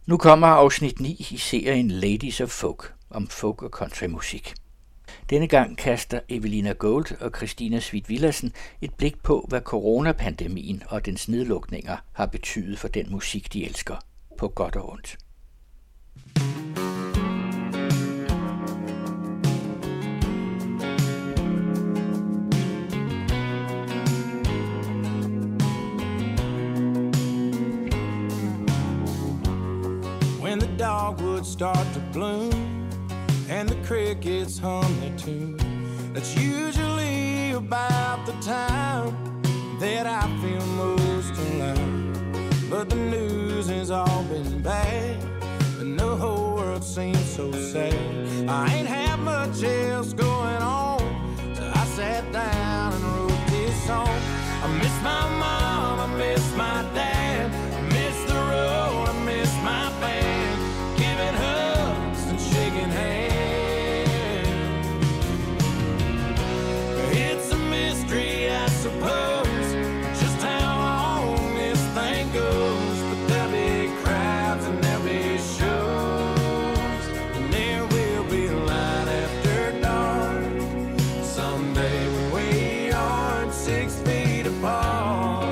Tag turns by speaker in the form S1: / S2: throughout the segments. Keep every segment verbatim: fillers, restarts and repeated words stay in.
S1: Nu kommer afsnit ni i serien Ladies of Folk om folk- og countrymusik. Denne gang kaster Evelina Gold og Christina Svidt-Villadsen et blik på, hvad coronapandemien og dens nedlukninger har betydet for den musik, de elsker, på godt og ondt.
S2: When the dogwoods start to bloom and the crickets hum their tune, that's usually about the time that I feel most alive. But the news has all been bad, and the whole world seems so sad. I ain't had much else going on, so I sat down and wrote this song. I miss my mom, I miss my dad, I miss the road, I miss my band, giving hugs and shaking hands. It's a mystery, I suppose, just how long this thing goes. But there'll be crowds and there'll be shows, and there will be light after dark someday when we aren't six feet apart.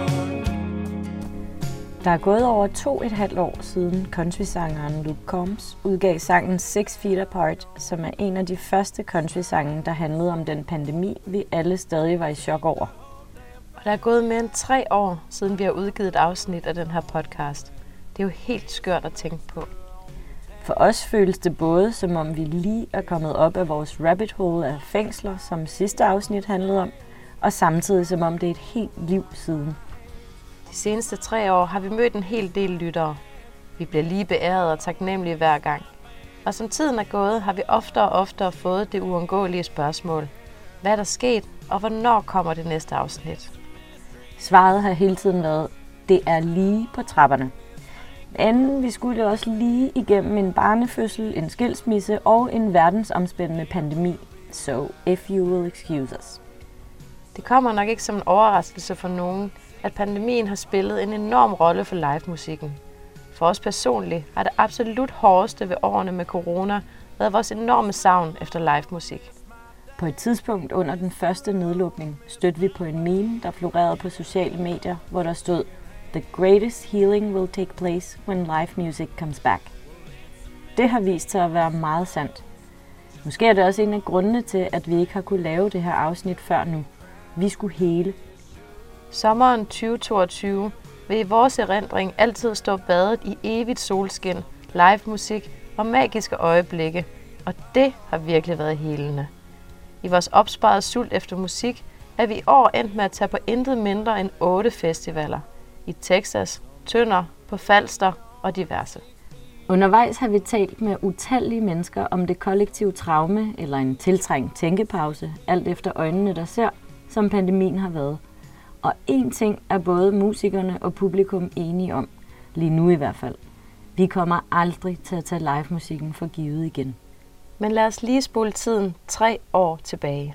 S3: Der er gået over to et halvt år siden countrysangeren Luke Combs udgav sangen Six Feet Apart, som er en af de første countrysange, der handlede om den pandemi, vi alle stadig var i chok over.
S4: Og der er gået mere end tre år, siden vi har udgivet et afsnit af den her podcast. Det er jo helt skørt at tænke på.
S3: For os føles det både, som om vi lige er kommet op af vores rabbit hole af fængsler, som sidste afsnit handlede om, og samtidig som om det er et helt liv siden.
S4: De seneste tre år har vi mødt en hel del lyttere. Vi bliver lige beæret og taknemmelige hver gang. Og som tiden er gået, har vi oftere og oftere fået det uundgåelige spørgsmål. Hvad er der sket, og hvornår kommer det næste afsnit?
S3: Svaret har hele tiden været, det er lige på trapperne. Men vi skulle også lige igennem en barnefødsel, en skilsmisse og en verdensomspændende pandemi. So, if you will excuse us.
S4: Det kommer nok ikke som en overraskelse for nogen, at pandemien har spillet en enorm rolle for livemusikken. For os personligt har det absolut hårdeste ved årene med corona været vores enorme savn efter livemusik.
S3: På et tidspunkt under den første nedlukning stødte vi på en meme, der florerede på sociale medier, hvor der stod The greatest healing will take place when live music comes back. Det har vist sig at være meget sandt. Måske er det også en af grundene til, at vi ikke har kunne lave det her afsnit før nu. Vi skulle hele.
S4: Sommeren tyve toogtyve vil i vores erindring altid stå badet i evigt solskin, live musik og magiske øjeblikke, og det har virkelig været helende. I vores opsparede sult efter musik er vi i år endt med at tage på intet mindre end otte festivaler. I Texas, Tønder, på Falster og diverse.
S3: Undervejs har vi talt med utallige mennesker om det kollektive traume eller en tiltrængt tænkepause, alt efter øjnene der ser, som pandemien har været. Og én ting er både musikerne og publikum enige om, lige nu i hvert fald. Vi kommer aldrig til at tage livemusikken for givet igen.
S4: Men lad os lige spole tiden tre år tilbage.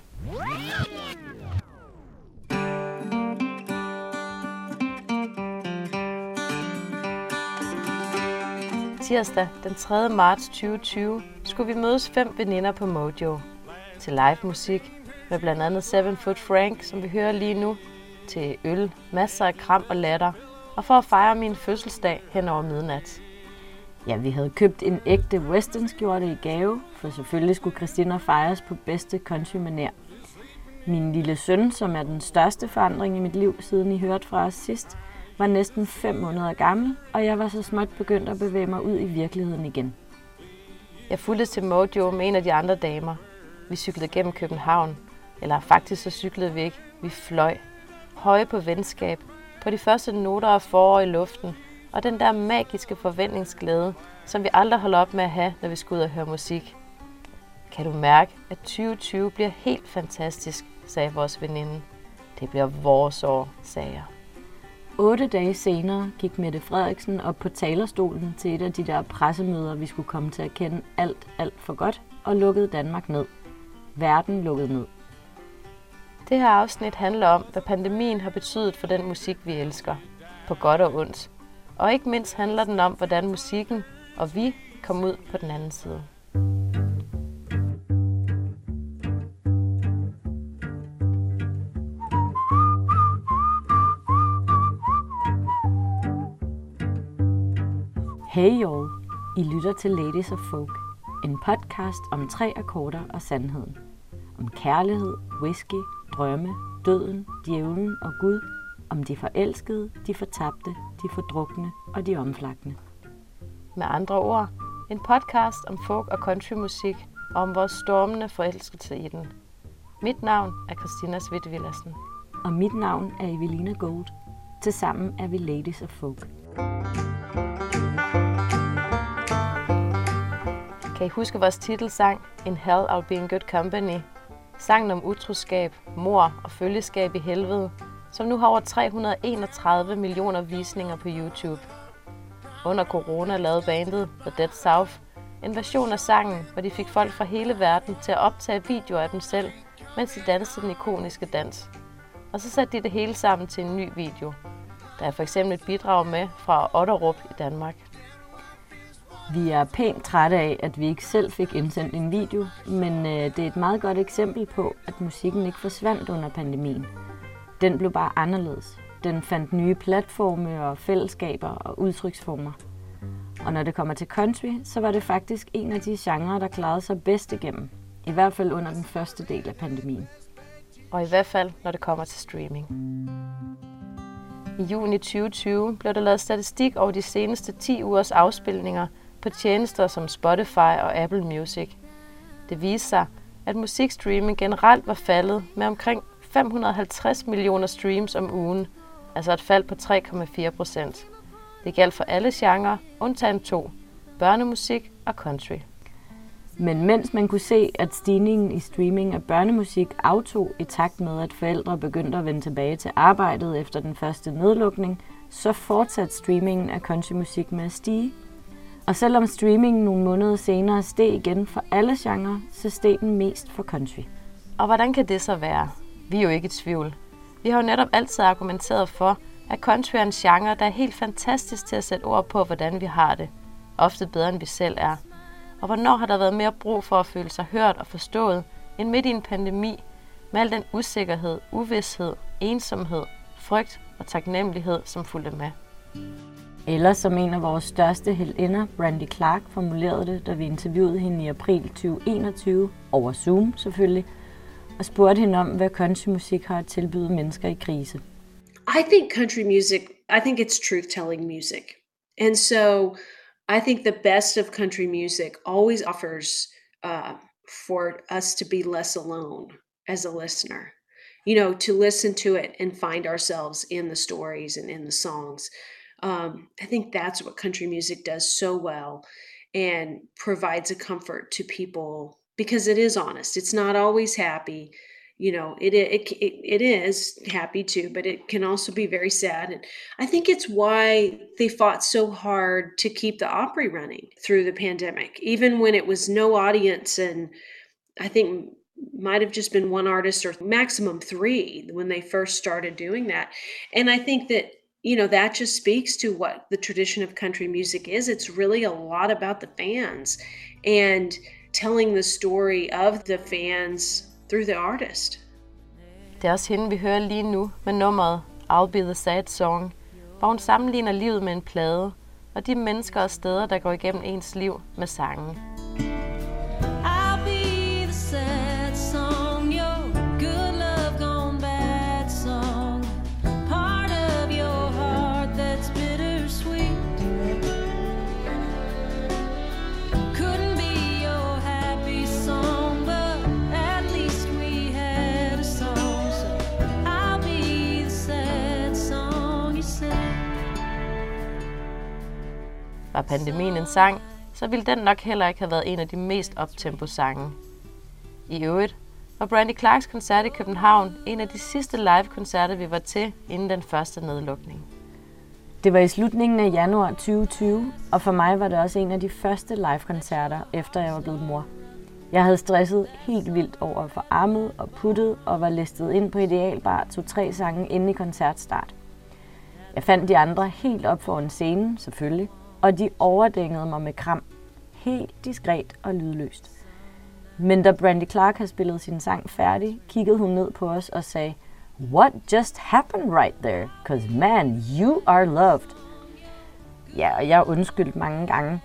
S4: Tirsdag den tredje marts tyve tyve skulle vi mødes fem veninder på Mojo. Til livemusik med blandt andet Seven Foot Frank, som vi hører lige nu, til øl, masser af kram og latter, og for at fejre min fødselsdag hen over midnat.
S3: Ja, vi havde købt en ægte westernskjorte i gave, for selvfølgelig skulle Christina fejres på bedste countrymanér. Min lille søn, som er den største forandring i mit liv, siden I hørte fra os sidst, var næsten fem måneder gammel, og jeg var så småt begyndt at bevæge mig ud i virkeligheden igen.
S4: Jeg fulgte til Mojo med en af de andre damer. Vi cyklede gennem København, eller faktisk så cyklede vi ikke, vi fløj. Høje på venskab, på de første noter af forår i luften, og den der magiske forventningsglæde, som vi aldrig holder op med at have, når vi skal ud og høre musik. Kan du mærke, at tyve tyve bliver helt fantastisk, sagde vores veninde. Det bliver vores år, sagde jeg.
S3: Otte dage senere gik Mette Frederiksen op på talerstolen til et af de der pressemøder, vi skulle komme til at kende alt, alt for godt, og lukkede Danmark ned. Verden lukkede ned.
S4: Det her afsnit handler om, hvad pandemien har betydet for den musik, vi elsker. På godt og ondt. Og ikke mindst handler den om, hvordan musikken, og vi kom ud på den anden side.
S3: Hey y'all, I lytter til Ladies of Folk, en podcast om tre akkorder og sandheden. Om kærlighed, whisky, drømme, døden, djævlen og Gud. Om de forelskede, de fortabte, de fordrukne og de omflakkende.
S4: Med andre ord, en podcast om folk- og countrymusik og om vores stormende forelskelse i den. Mit navn er Christina Svidt Villadsen.
S3: Og mit navn er Evelina Gold. Tilsammen er vi Ladies of Folk.
S4: Kan I huske vores titelsang In Hell I'll Be in Good Company? Sangen om utroskab, mord og følgeskab i helvede, som nu har over tre hundrede og enogtredive millioner visninger på YouTube. Under corona lavede bandet The Dead South en version af sangen, hvor de fik folk fra hele verden til at optage videoer af dem selv, mens de dansede den ikoniske dans. Og så satte de det hele sammen til en ny video. Der er for eksempel et bidrag med fra Otterup i Danmark.
S3: Vi er pænt trætte af, at vi ikke selv fik indsendt en video, men øh, det er et meget godt eksempel på, at musikken ikke forsvandt under pandemien. Den blev bare anderledes. Den fandt nye platforme og fællesskaber og udtryksformer. Og når det kommer til country, så var det faktisk en af de genrer, der klarede sig bedst igennem. I hvert fald under den første del af pandemien.
S4: Og i hvert fald, når det kommer til streaming. I juni tyve tyve blev der lavet statistik over de seneste ti ugers afspilninger på tjenester som Spotify og Apple Music. Det viste sig, at musikstreaming generelt var faldet med omkring fem hundrede og halvtreds millioner streams om ugen, altså et fald på tre komma fire procent. Det galt for alle genrer, undtagen to, børnemusik og country.
S3: Men mens man kunne se, at stigningen i streaming af børnemusik aftog i takt med, at forældre begyndte at vende tilbage til arbejdet efter den første nedlukning, så fortsatte streamingen af countrymusik med at stige. Og selvom streamingen nogle måneder senere steg igen for alle genrer, så steg den mest for country.
S4: Og hvordan kan det så være? Vi er jo ikke i tvivl. Vi har jo netop altid argumenteret for, at country er en genre, der er helt fantastisk til at sætte ord på, hvordan vi har det. Ofte bedre, end vi selv er. Og hvornår har der været mere brug for at føle sig hørt og forstået, end midt i en pandemi, med al den usikkerhed, uvished, ensomhed, frygt og taknemmelighed, som fulgte med.
S3: Eller som en af vores største heltinder, Brandy Clark, formulerede det, da vi interviewede hende i april tyve enogtyve, over Zoom selvfølgelig, og spurgte hende om, hvad countrymusik har at tilbyde mennesker i krise.
S5: I think country music, I think it's truth-telling music. And so I think the best of country music always offers uh, for us to be less alone as a listener. You know, to listen to it and find ourselves in the stories and in the songs. Um, I think that's what country music does so well and provides a comfort to people because it is honest. It's not always happy. You know, it, it it it is happy too, but it can also be very sad. And I think it's why they fought so hard to keep the Opry running through the pandemic, even when it was no audience. And I think might have just been one artist or maximum three when they first started doing that. And I think that, you know, that just speaks to what the tradition of country music is. It's really a lot about the fans and telling the story of the fans through the artist.
S4: Det er også hende, vi hører lige nu med nummeret I'll Be the Sad Song, hvor hun sammenligner livet med en plade, og de mennesker og steder, der går igennem ens liv med sangen. Var pandemien en sang, så ville den nok heller ikke have været en af de mest optempo-sange. I øvrigt var Brandy Clarks koncert i København en af de sidste live-koncerter, vi var til inden den første nedlukning.
S3: Det var i slutningen af januar tyve tyve, og for mig var det også en af de første live-koncerter, efter jeg var blevet mor. Jeg havde stresset helt vildt over at få armet og puttet, og var listet ind på Idealbar to-tre sange inden i koncertstart. Jeg fandt de andre helt op foran scenen, selvfølgelig, og de overdængede mig med kram. Helt diskret og lydløst. Men da Brandy Clark havde spillet sin sang færdig, kiggede hun ned på os og sagde, "What just happened right there? 'Cause man, you are loved." Ja, og jeg undskyldte mange gange.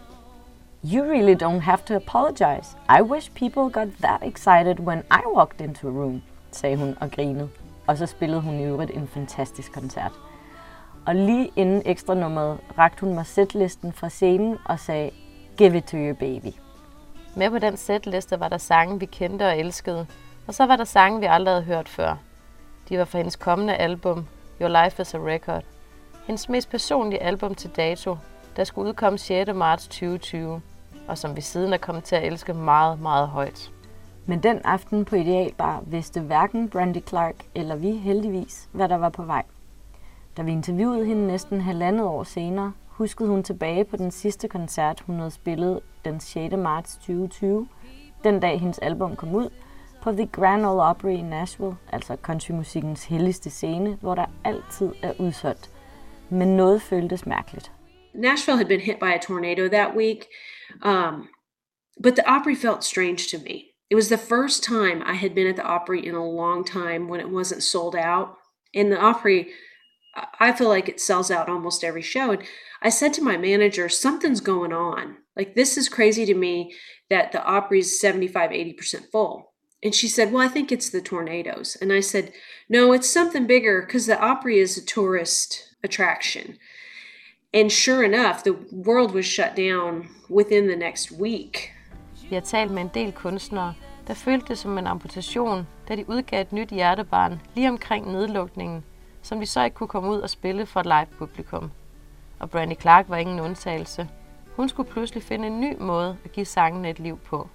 S3: "You really don't have to apologize. I wish people got that excited when I walked into a room," sagde hun og grinede. Og så spillede hun i øvrigt en fantastisk koncert. Og lige inden ekstra nummeret rakte hun mig setlisten fra scenen og sagde, "Give it to your baby."
S4: Med på den setliste var der sange, vi kendte og elskede, og så var der sange, vi aldrig havde hørt før. De var fra hendes kommende album, Your Life is a Record. Hendes mest personlige album til dato, der skulle udkomme sjette marts tyve tyve, og som vi siden er kommet til at elske meget, meget højt.
S3: Men den aften på Idealbar vidste hverken Brandy Clark eller vi heldigvis, hvad der var på vej. Da vi interviewede hende næsten halvandet år senere, huskede hun tilbage på den sidste koncert, hun havde spillet den sjette marts tyve tyve, den dag hendes album kom ud, på The Grand Ole Opry i Nashville, altså countrymusikkens helligste scene, hvor der altid er udsolgt. Men noget føltes mærkeligt.
S5: Nashville had been hit by a tornado that week, um, but the Opry felt strange to me. It was the first time I had been at the Opry in a long time when it wasn't sold out. In the Opry, I feel like it sells out almost every show. And I said to my manager, something's going on. Like, this is crazy to me that the Opry's seventy-five, eighty percent full. And she said, well, I think it's the tornadoes. And I said, no, it's something bigger because the Opry is a tourist attraction. And sure enough, the world was shut down within the next week.
S4: Vi har talt med en del kunstnere, der følte det som en amputation, da de udgav et nyt hjertebarn lige omkring nedlukningen, som de så ikke kunne komme ud og spille for et live-publikum. Og Brandy Clark var ingen undtagelse. Hun skulle pludselig finde en ny måde at give sangene et liv på.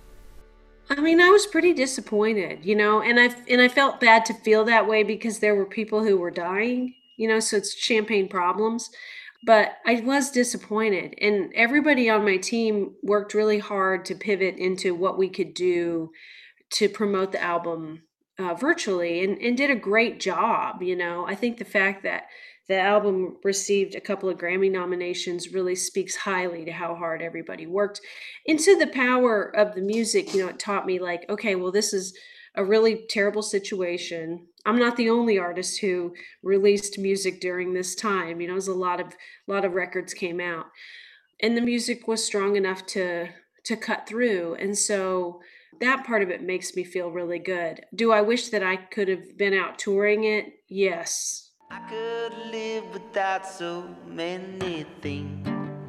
S5: I mean, I was pretty disappointed, you know, and I and I felt bad to feel that way because there were people who were dying, you know, so it's champagne problems. But I was disappointed, and everybody on my team worked really hard to pivot into what we could do to promote the album uh, virtually, and, and did a great job. You know, I think the fact that the album received a couple of Grammy nominations really speaks highly to how hard everybody worked. Into the power of the music, you know, it taught me like, okay, well, this is a really terrible situation. I'm not the only artist who released music during this time. You know, there's a lot of lot of records came out, and the music was strong enough to to cut through. And so that part of it makes me feel really good. Do I wish that I could have been out touring it? Yes.
S6: I could live without so many things.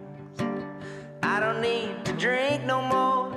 S6: I don't need to drink no more.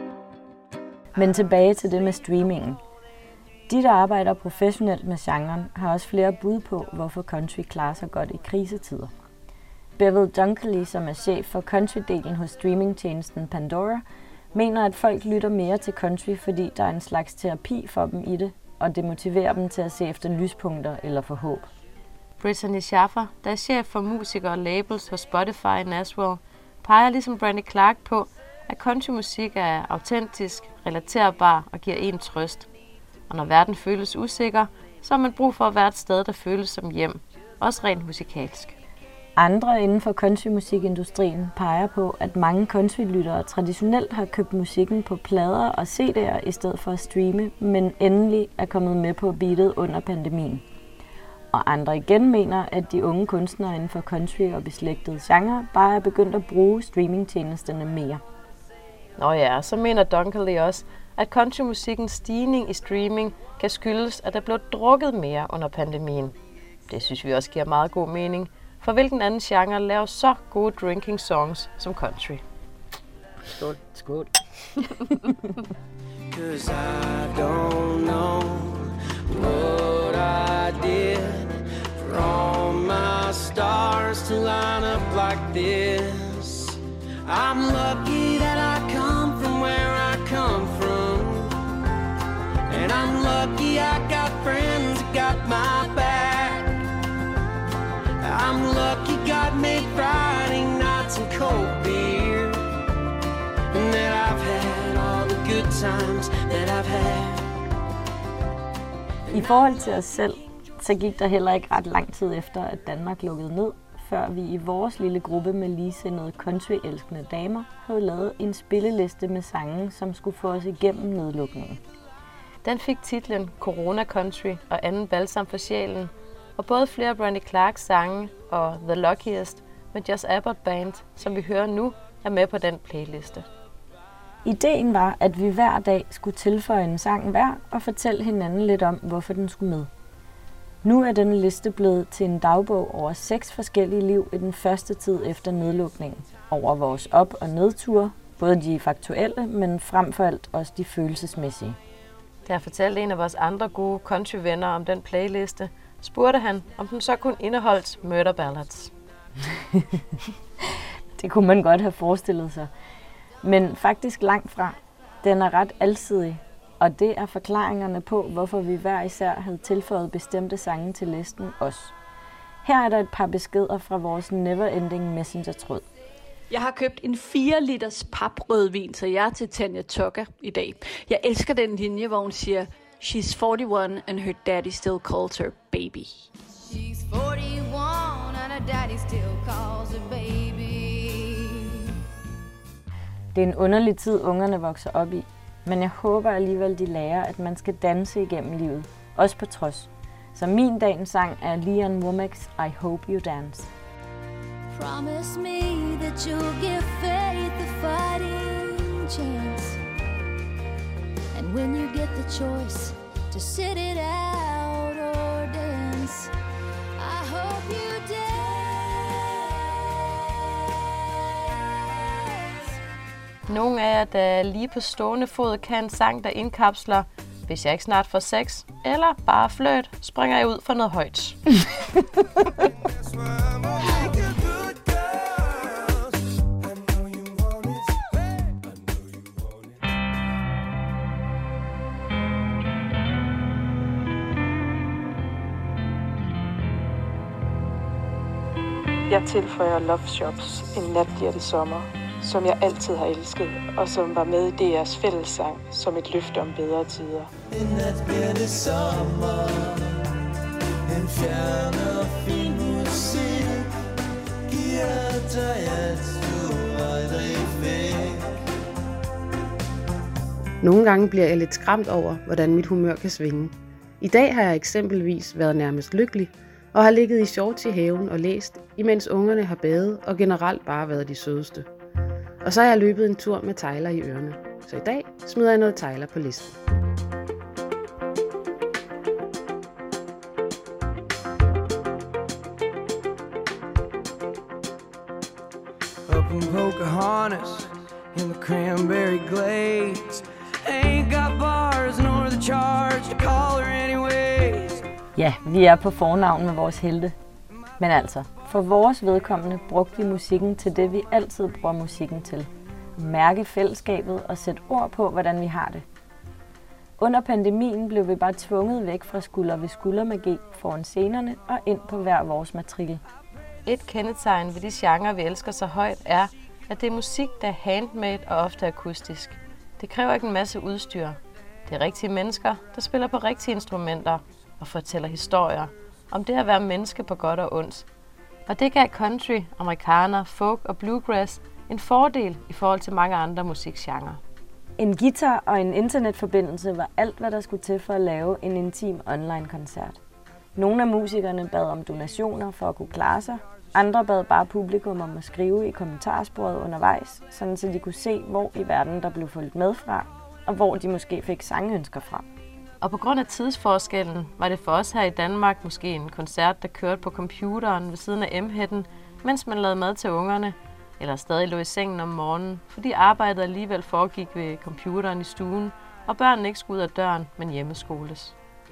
S3: Men tilbage til det med streamingen. De, der arbejder professionelt med genren, har også flere bud på, hvorfor country klarer sig godt i krisetider. Bevel Dunkley, som er chef for country-delen hos streamingtjenesten Pandora, mener, at folk lytter mere til country, fordi der er en slags terapi for dem i det, og det motiverer dem til at se efter lyspunkter eller få håb.
S4: Brittany Schaffer, der er chef for musikere og labels hos Spotify i Nashville, peger ligesom Brandy Clark på, at countrymusik er autentisk, relaterbar og giver en trøst. Og når verden føles usikker, så har man brug for at være et sted, der føles som hjem, også rent musikalsk.
S3: Andre inden for countrymusikindustrien peger på, at mange countrylyttere traditionelt har købt musikken på plader og C D'er i stedet for at streame, men endelig er kommet med på beatet under pandemien. Og andre igen mener, at de unge kunstnere inden for country og beslægtede genre bare er begyndt at bruge streamingtjenesterne mere.
S4: Nå ja, så mener Dunkley også, at countrymusikkens stigning i streaming kan skyldes, at der blev drukket mere under pandemien. Det synes vi også giver meget god mening, for hvilken anden genre laver så gode drinking songs som country?
S3: Skål. Skål.
S2: Cause I don't know what I did for all my stars to line up like this. I'm lucky that I come from where I come from, and I'm lucky I got friends that got my back. I'm lucky God made Friday nights and cold beer, and that I've had all the good times that I've had.
S3: I forhold til os selv, så gik der heller ikke ret lang tid efter, at Danmark lukkede ned, før vi i vores lille gruppe med ligesindede country-elskende damer havde lavet en spilleliste med sange, som skulle få os igennem nedlukningen.
S4: Den fik titlen Corona Country og anden balsam for sjælen, og både flere Brandy Clarks sange og The Luckiest med Just Abbott Band, som vi hører nu, er med på den playliste.
S3: Ideen var, at vi hver dag skulle tilføje en sang hver og fortælle hinanden lidt om, hvorfor den skulle med. Nu er denne liste blevet til en dagbog over seks forskellige liv i den første tid efter nedlukningen. Over vores op- og nedture, både de faktuelle, men frem for alt også de følelsesmæssige.
S4: Da jeg fortalte en af vores andre gode countryvenner om den playliste, spurgte han, om den så kun indeholdt murder ballads.
S3: Det kunne man godt have forestillet sig. Men faktisk langt fra. Den er ret alsidig, og det er forklaringerne på, hvorfor vi hver især havde tilføjet bestemte sange til listen også. Her er der et par beskeder fra vores Neverending Messenger-tråd.
S7: Jeg har købt en fire liters paprødvin, så jeg er til Tanya Tucker i dag. Jeg elsker den linje, hvor hun siger, She's forty-one and her daddy still calls her baby.
S8: She's forty-one and her daddy still calls her baby.
S3: Det er en underlig tid, ungerne vokser op i, men jeg håber alligevel, de lærer, at man skal danse igennem livet, også på trods. Så min dagens sang er Leon Womack's I Hope You Dance.
S8: Promise me that you'll give faith a fighting chance. And when you get the choice to sit it out or dance, I hope you dance.
S4: Nogle af jer, der lige på stående fod kan en sang, der indkapsler, hvis jeg ikke snart får sex, eller bare fløjt, springer jeg ud for noget højt.
S9: Jeg tilføjer Love Shops, En nat bliver det sommer, som jeg altid har elsket, og som var med i D R's fællessang som et løfte om bedre tider.
S2: En nat bliver det sommer, en fjern og fin musik, giver dig alt, du aldrig fik.
S10: Nogle gange bliver jeg lidt skræmt over, hvordan mit humør kan svinge. I dag har jeg eksempelvis været nærmest lykkelig, og har ligget i shorts i haven og læst, imens ungerne har badet og generelt bare været de sødeste. Og så har jeg løbet en tur med Tyler i ørerne. Så i dag smider jeg noget Tyler på listen.
S2: Up in Pocahontas, in the cranberry glades, ain't got bars nor the charge to call her anyways.
S3: Ja, vi er på fornavn med vores helte. Men altså, for vores vedkommende brugte vi musikken til det, vi altid bruger musikken til. Mærke fællesskabet og sætte ord på, hvordan vi har det. Under pandemien blev vi bare tvunget væk fra skulder ved skuldermagi foran scenerne og ind på hver vores matrikel.
S4: Et kendetegn ved de genrer, vi elsker så højt, er, at det er musik, der er handmade og ofte akustisk. Det kræver ikke en masse udstyr. Det er rigtige mennesker, der spiller på rigtige instrumenter og fortæller historier om det at være menneske på godt og ondt. Og det gav country, amerikaner, folk og bluegrass en fordel i forhold til mange andre musikgenrer.
S3: En guitar og en internetforbindelse var alt, hvad der skulle til for at lave en intim online-koncert. Nogle af musikerne bad om donationer for at kunne klare sig. Andre bad bare publikum om at skrive i kommentarsporet undervejs, sådan så de kunne se, hvor i verden der blev fulgt med fra, og hvor de måske fik sangønsker fra.
S4: Og på grund af tidsforskellen var det for os her i Danmark måske en koncert, der kørte på computeren ved siden af M-hætten, mens man lavede mad til ungerne, eller stadig lå i sengen om morgenen, fordi arbejdet alligevel foregik ved computeren i stuen, og børnene ikke skulle ud af døren, men hjemmeskoles.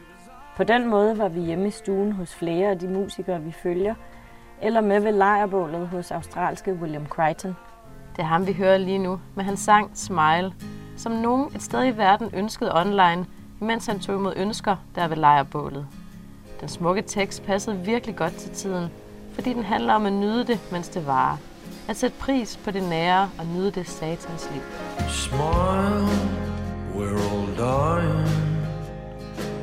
S3: På den måde var vi hjemme i stuen hos flere af de musikere, vi følger, eller med ved lejrbålet hos australske William Crichton.
S4: Det er ham, vi hører lige nu, med hans sang Smile, som nogen et sted i verden ønskede online, imens han tog imod ønsker der ved lejrbålet. Den smukke tekst passede virkelig godt til tiden, fordi den handler om at nyde det, mens det varer. At sætte pris på det nære og nyde det satans liv.
S2: Smile, we're all dying.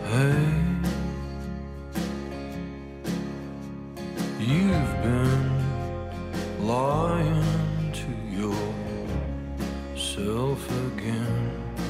S2: Hey, you've been yourself again.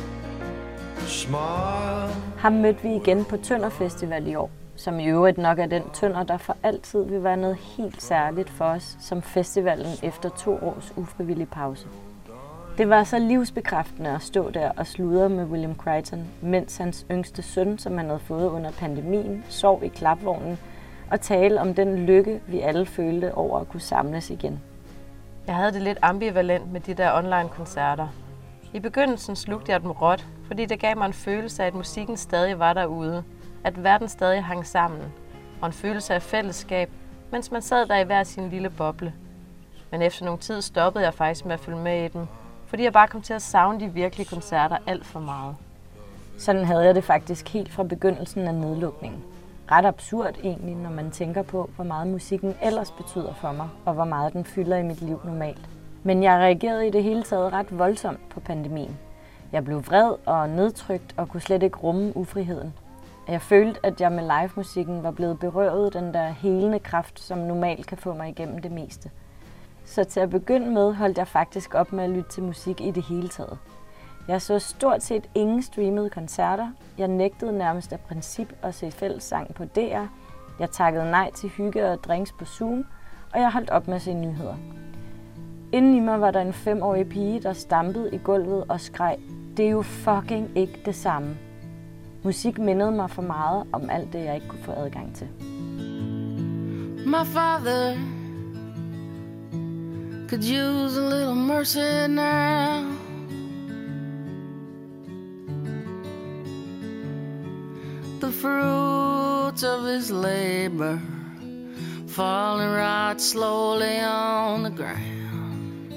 S2: Smile.
S3: Ham mødte vi igen på Tønder Festival i år, som i øvrigt nok er den Tønder, der for altid vil være noget helt særligt for os som festivalen efter to års ufrivillig pause. Det var så livsbekræftende at stå der og sludre med William Crichton, mens hans yngste søn, som han havde fået under pandemien, sov i klapvognen og tale om den lykke, vi alle følte over at kunne samles igen.
S4: Jeg havde det lidt ambivalent med de der online-koncerter. I begyndelsen slugte jeg dem råt, fordi det gav mig en følelse af, at musikken stadig var derude, at verden stadig hang sammen, og en følelse af fællesskab, mens man sad der i hver sin lille boble. Men efter nogle tid stoppede jeg faktisk med at følge med i dem, fordi jeg bare kom til at savne de virkelige koncerter alt for meget.
S3: Sådan havde jeg det faktisk helt fra begyndelsen af nedlukningen. Ret absurd egentlig, når man tænker på, hvor meget musikken ellers betyder for mig, og hvor meget den fylder i mit liv normalt. Men jeg reagerede i det hele taget ret voldsomt på pandemien. Jeg blev vred og nedtrykt og kunne slet ikke rumme ufriheden. Jeg følte, at jeg med livemusikken var blevet berøvet den der helende kraft, som normalt kan få mig igennem det meste. Så til at begynde med holdt jeg faktisk op med at lytte til musik i det hele taget. Jeg så stort set ingen streamede koncerter. Jeg nægtede nærmest af princip at se fællessang på D R. Jeg takkede nej til hygge og drinks på Zoom, og jeg holdt op med at se nyheder. Inden i mig var der en femårig pige, der stampede i gulvet og skreg, det er jo fucking ikke det samme. Musik mindede mig for meget om alt det, jeg ikke kunne få adgang til.
S11: My father could use a little mercy now. The fruits of his labor falling right slowly on the ground.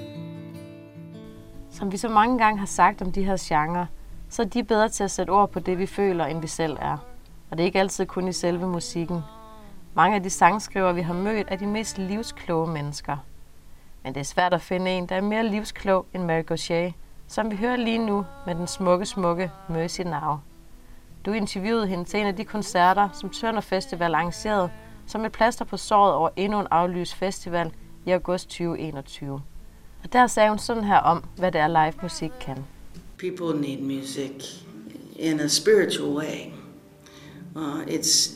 S4: Som vi så mange gange har sagt om de her genrer, så er de bedre til at sætte ord på det, vi føler, end vi selv er. Og det er ikke altid kun i selve musikken. Mange af de sangskrivere, vi har mødt, er de mest livskloge mennesker. Men det er svært at finde en, der er mere livsklog end Mary Gauthier, som vi hører lige nu med den smukke, smukke Mercy Now. Du interviewede hende til en af de koncerter, som Tønder Festival arrangerede, som et plaster på såret over endnu en aflyst festival i august tyve enogtyve. Og der sagde hun sådan her om, hvad det er live musik kan.
S12: People need music in a spiritual way. Uh, it's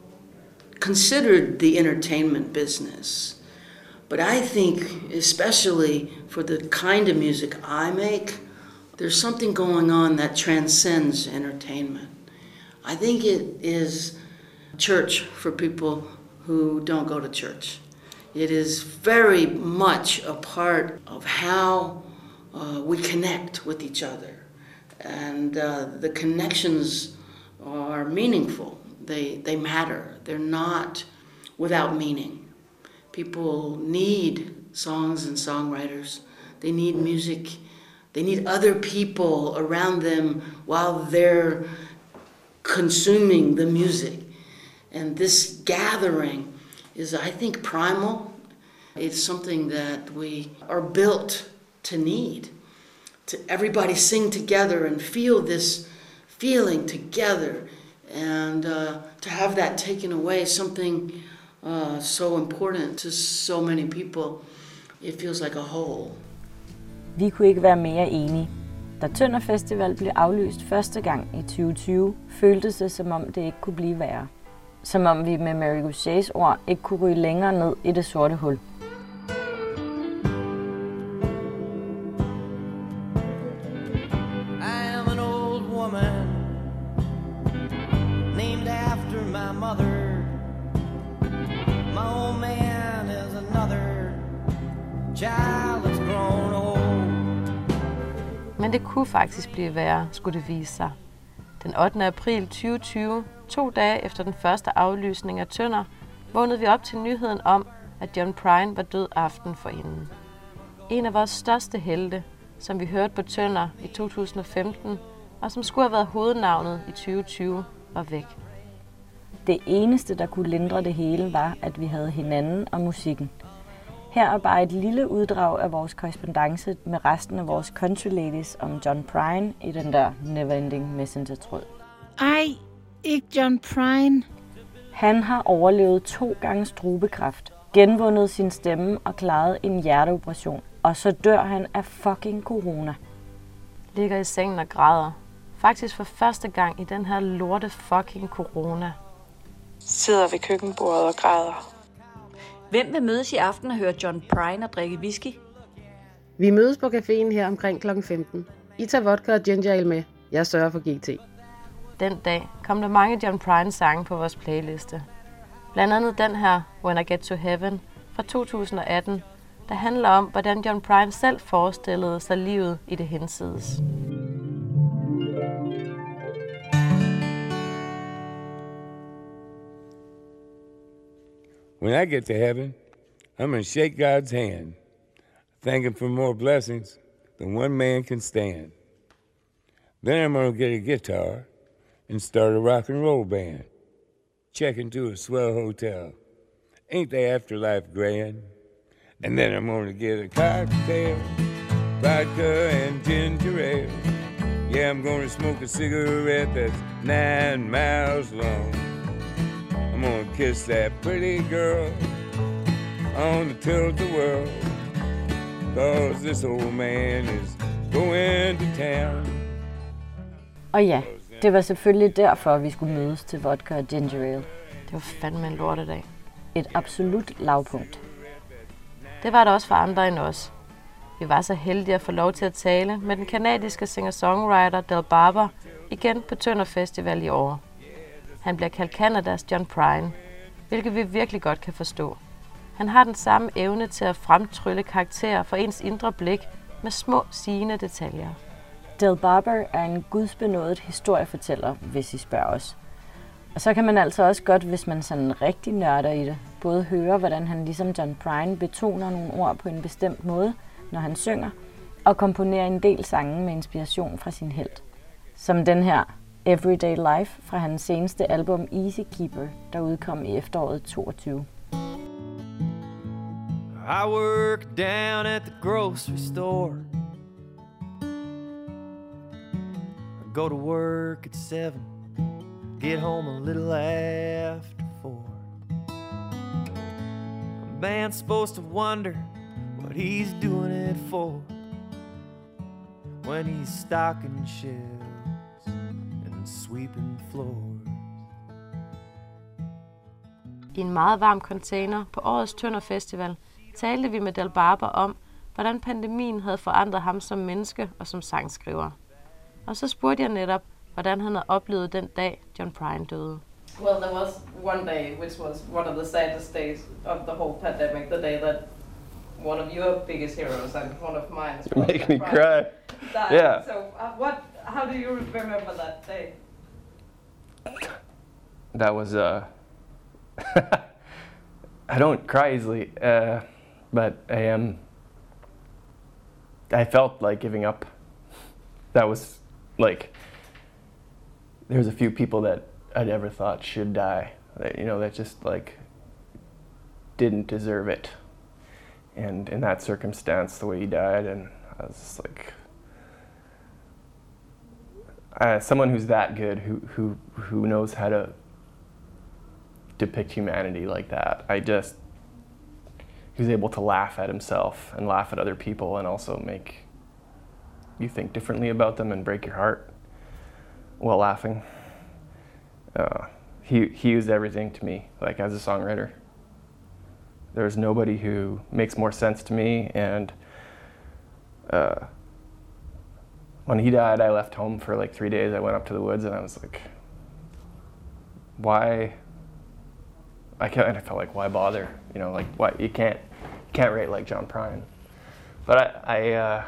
S12: considered the entertainment business. But I think, especially for the kind of music I make, there's something going on that transcends entertainment. I think it is church for people who don't go to church. It is very much a part of how uh, we connect with each other. And uh, the connections are meaningful. They, they matter. They're not without meaning. People need songs and songwriters. They need music. They need other people around them while they're consuming the music. And this gathering is, I think, primal. It's something that we are built to need. To everybody sing together and feel this feeling together. And uh, to have that taken away, something uh, so important to so many people, it feels like a whole.
S3: Vi kunne ikke være mere enige. Da Tønder Festival blev aflyst første gang i tyve tyve, føltes det, som om det ikke kunne blive værre. Som om vi med Mary Gauthiers ord ikke kunne ryge længere ned i det sorte hul.
S4: Men det kunne faktisk blive værre, skulle det vise sig. Den ottende april tyve tyve, to dage efter den første aflysning af Tønder, vågnede vi op til nyheden om, at John Prine var død aften forinden. En af vores største helte, som vi hørte på Tønder i to tusind og femten, og som skulle have været hovednavnet i tyve tyve, var væk.
S3: Det eneste, der kunne lindre det hele, var, at vi havde hinanden og musikken. Her er bare et lille uddrag af vores korrespondance med resten af vores country ladies om John Prine i den der Neverending Messenger-tråd.
S11: Ej, ikke John Prine.
S3: Han har overlevet to gange strubekræft, genvundet sin stemme og klaret en hjerteoperation, og så dør han af fucking corona.
S4: ligger i sengen og græder. Faktisk for første gang i den her lorte fucking corona.
S9: Sidder ved køkkenbordet og græder.
S7: Hvem vil mødes i aften og høre John Prine og drikke whisky?
S10: Vi mødes på caféen her omkring klokken femten. I tager vodka og ginger ale med. Jeg sørger for G T.
S4: Den dag kom der mange John Prine sange på vores playliste. Blandt andet den her, When I Get to Heaven, fra to tusind og atten, der handler om, hvordan John Prine selv forestillede sig livet i det hinsides.
S13: When I get to heaven, I'm going to shake God's hand, thank him for more blessings than one man can stand. Then I'm going to get a guitar and start a rock and roll band. Check into a swell hotel. Ain't the afterlife grand? And then I'm going to get a cocktail, vodka and ginger ale. Yeah, I'm going to smoke a cigarette that's nine miles long. I'm gonna kiss that pretty girl on the tilt-a-whirl, cause this old man is going to town.
S3: Og ja, det var selvfølgelig derfor, vi skulle mødes til vodka og ginger ale.
S4: Det var fandme en lortedag.
S3: Et absolut lavpunkt.
S4: Det var der også for andre end os. Vi var så heldige at få lov til at tale med den kanadiske singer-songwriter Del Barber igen på Tønder Festival i år. Han bliver kaldt Canadas John Prine, hvilket vi virkelig godt kan forstå. Han har den samme evne til at fremtrylle karakterer for ens indre blik med små sigende detaljer.
S3: Del Barber er en gudsbenådet historiefortæller, hvis I spørger os. Og så kan man altså også godt, hvis man sådan rigtig nørder i det, både høre, hvordan han ligesom John Prine betoner nogle ord på en bestemt måde, når han synger, og komponerer en del sange med inspiration fra sin helt. Som den her Everyday Life fra hans seneste album Easy Keeper, der udkom i efteråret toogtyve.
S14: I work down at the grocery store. I go to work at seven. Get home a little after four. A man's supposed to wonder what he's doing it for when he's stocking shelves and sweeping floors.
S4: I en meget varm container på årets Tønder Festival talte vi med Del Barber om, hvordan pandemien havde forandret ham som menneske og som sangskriver. Og så spurgte jeg netop, hvordan han havde oplevet den dag, John Prine døde.
S15: Well, there was one day, which was one of the saddest days of the whole pandemic, the day that one of your biggest heroes and one of mine,
S16: you make me cry.
S15: Died.
S16: Yeah.
S15: So, uh, what? How do you remember that day?
S16: That was uh. I don't cry easily, uh, but I am. Um, I felt like giving up. That was like. There's a few people that I never thought should die. That, you know, that just like didn't deserve it. And in that circumstance, the way he died, and I was just like, uh, someone who's that good, who who who knows how to depict humanity like that. I just, he was able to laugh at himself and laugh at other people and also make you think differently about them and break your heart while laughing. Uh, he he used everything to me, like as a songwriter. There's nobody who makes more sense to me, and uh, when he died, I left home for like three days. I went up to the woods and I was like, why? I can't, and I felt like, why bother? You know, like, why, you can't, can't write like John Prine. But I, I, uh,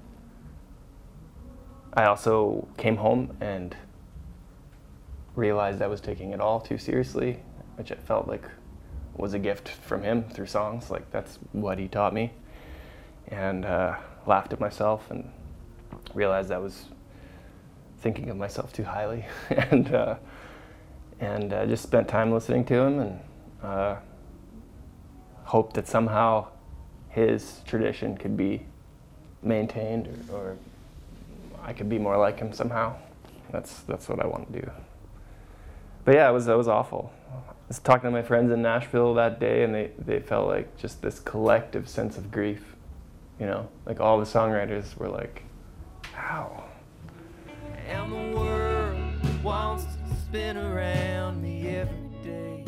S16: I also came home and realized I was taking it all too seriously, which I felt like was a gift from him through songs. Like, that's what he taught me. And uh, laughed at myself and realized I was thinking of myself too highly. and uh, and uh, just spent time listening to him and uh, hoped that somehow his tradition could be maintained, or, or I could be more like him somehow. That's that's what I want to do. But yeah, it was it was awful. I was talking to my friends in Nashville that day, and they, they felt like just this collective sense of grief. You know, like all the songwriters were like, "How?
S14: And the world wants to spin around me every day.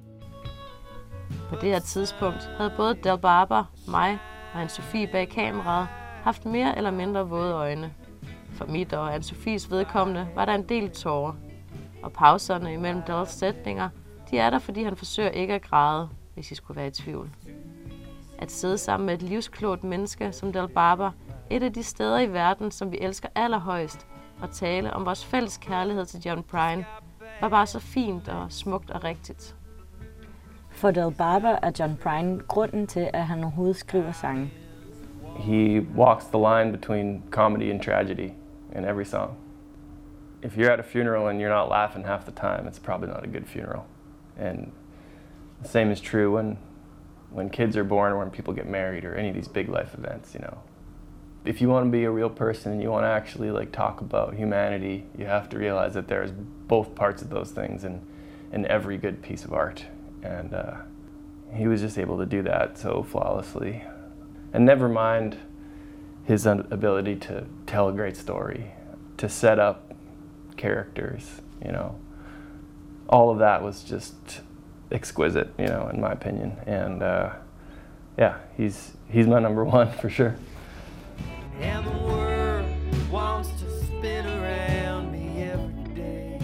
S4: På det her tidspunkt havde både Del Barber, mig og Anne-Sophie bag kameraet haft mere eller mindre våde øjne. For mit og Anne-Sophies vedkommende var der en del tårer. Og pauserne imellem Dels sætninger, de er der, fordi han forsøger ikke at græde, hvis I skulle være i tvivl. At sidde sammen med et livsklogt menneske som Del Barber, et af de steder i verden, som vi elsker allerhøjst, og tale om vores fælles kærlighed til John Prine, var bare så fint og smukt og rigtigt.
S3: For Del Barber er John Prine grunden til, at han overhovedet skriver sange.
S16: He walks the line between comedy and tragedy in every song. If you're at a funeral and you're not laughing half the time, it's probably not a good funeral. And the same is true when when kids are born or when people get married or any of these big life events, you know. If you want to be a real person and you want to actually like talk about humanity, you have to realize that there's both parts of those things in, in every good piece of art. And uh, he was just able to do that so flawlessly. And never mind his ability to tell a great story, to set up characters, you know. All of that was just exquisite, you know, in my opinion. And uh, yeah, he's he's my number one for sure.
S14: And the world wants to spin around me every day.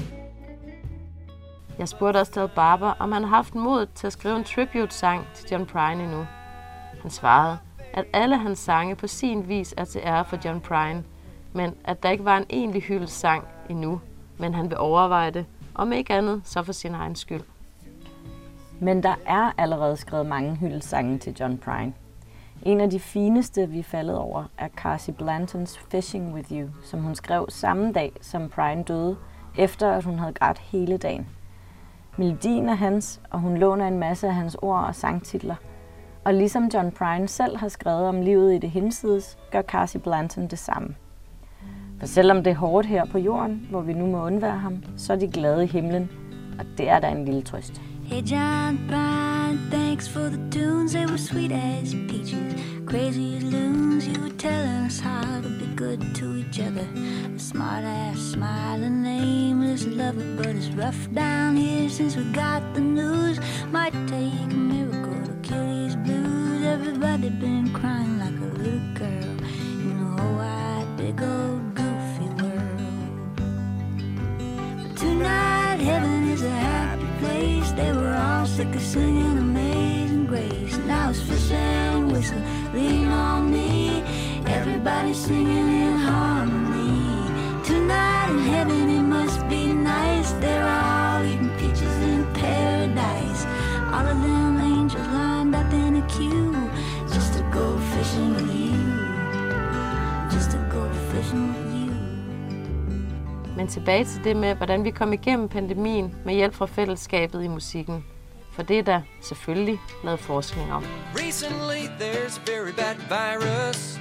S4: Jeg spurgte også Del Barber, om han har haft mod til at skrive en tribute-sang til John Prine endnu. Han svarede, at alle hans sange på sin vis er til ære for John Prine, men at der ikke var en egentlig hyldestsang endnu, men han vil overveje det, om ikke andet, så for sin egen skyld.
S3: Men der er allerede skrevet mange hyldestsange til John Prine. En af de fineste, vi er faldet over, er Carsie Blantons Fishing With You, som hun skrev samme dag, som Prine døde, efter at hun havde grædt hele dagen. Melodien er hans, og hun låner en masse af hans ord og sangtitler. Og ligesom John Prine selv har skrevet om livet i det hinsides, gør Carsie Blanton det samme. For selvom det er hårdt her på jorden, hvor vi nu må undvære ham, så er de glade i himlen, og det er der en lille trøst.
S8: Hey John Prine, thanks for the tunes, they were sweet as peaches, crazy as loons, you would tell us how to be good to each other. A smart ass, smiling, aimless lover, but it's rough down here since we got the news. Might take a miracle to kill these blues. Everybody been crying like a little girl in a whole wide, big old goofy world. But tonight heaven is a happy place. They were all sick of singing Amazing Grace. Now it's fish and whistle, lean on me. Everybody singing in harmony. Tonight in heaven it must be nice. They're all eating peaches in paradise. All of them angels lined up in a queue, just to go fishing with you. Just to go fishing with you.
S4: Men tilbage til det med, hvordan vi kom igennem pandemien med hjælp fra fællesskabet i musikken. For det er der selvfølgelig lavet forskning om.
S14: Recently there's a very bad virus.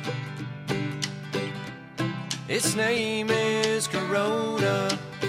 S14: Its name is Corona.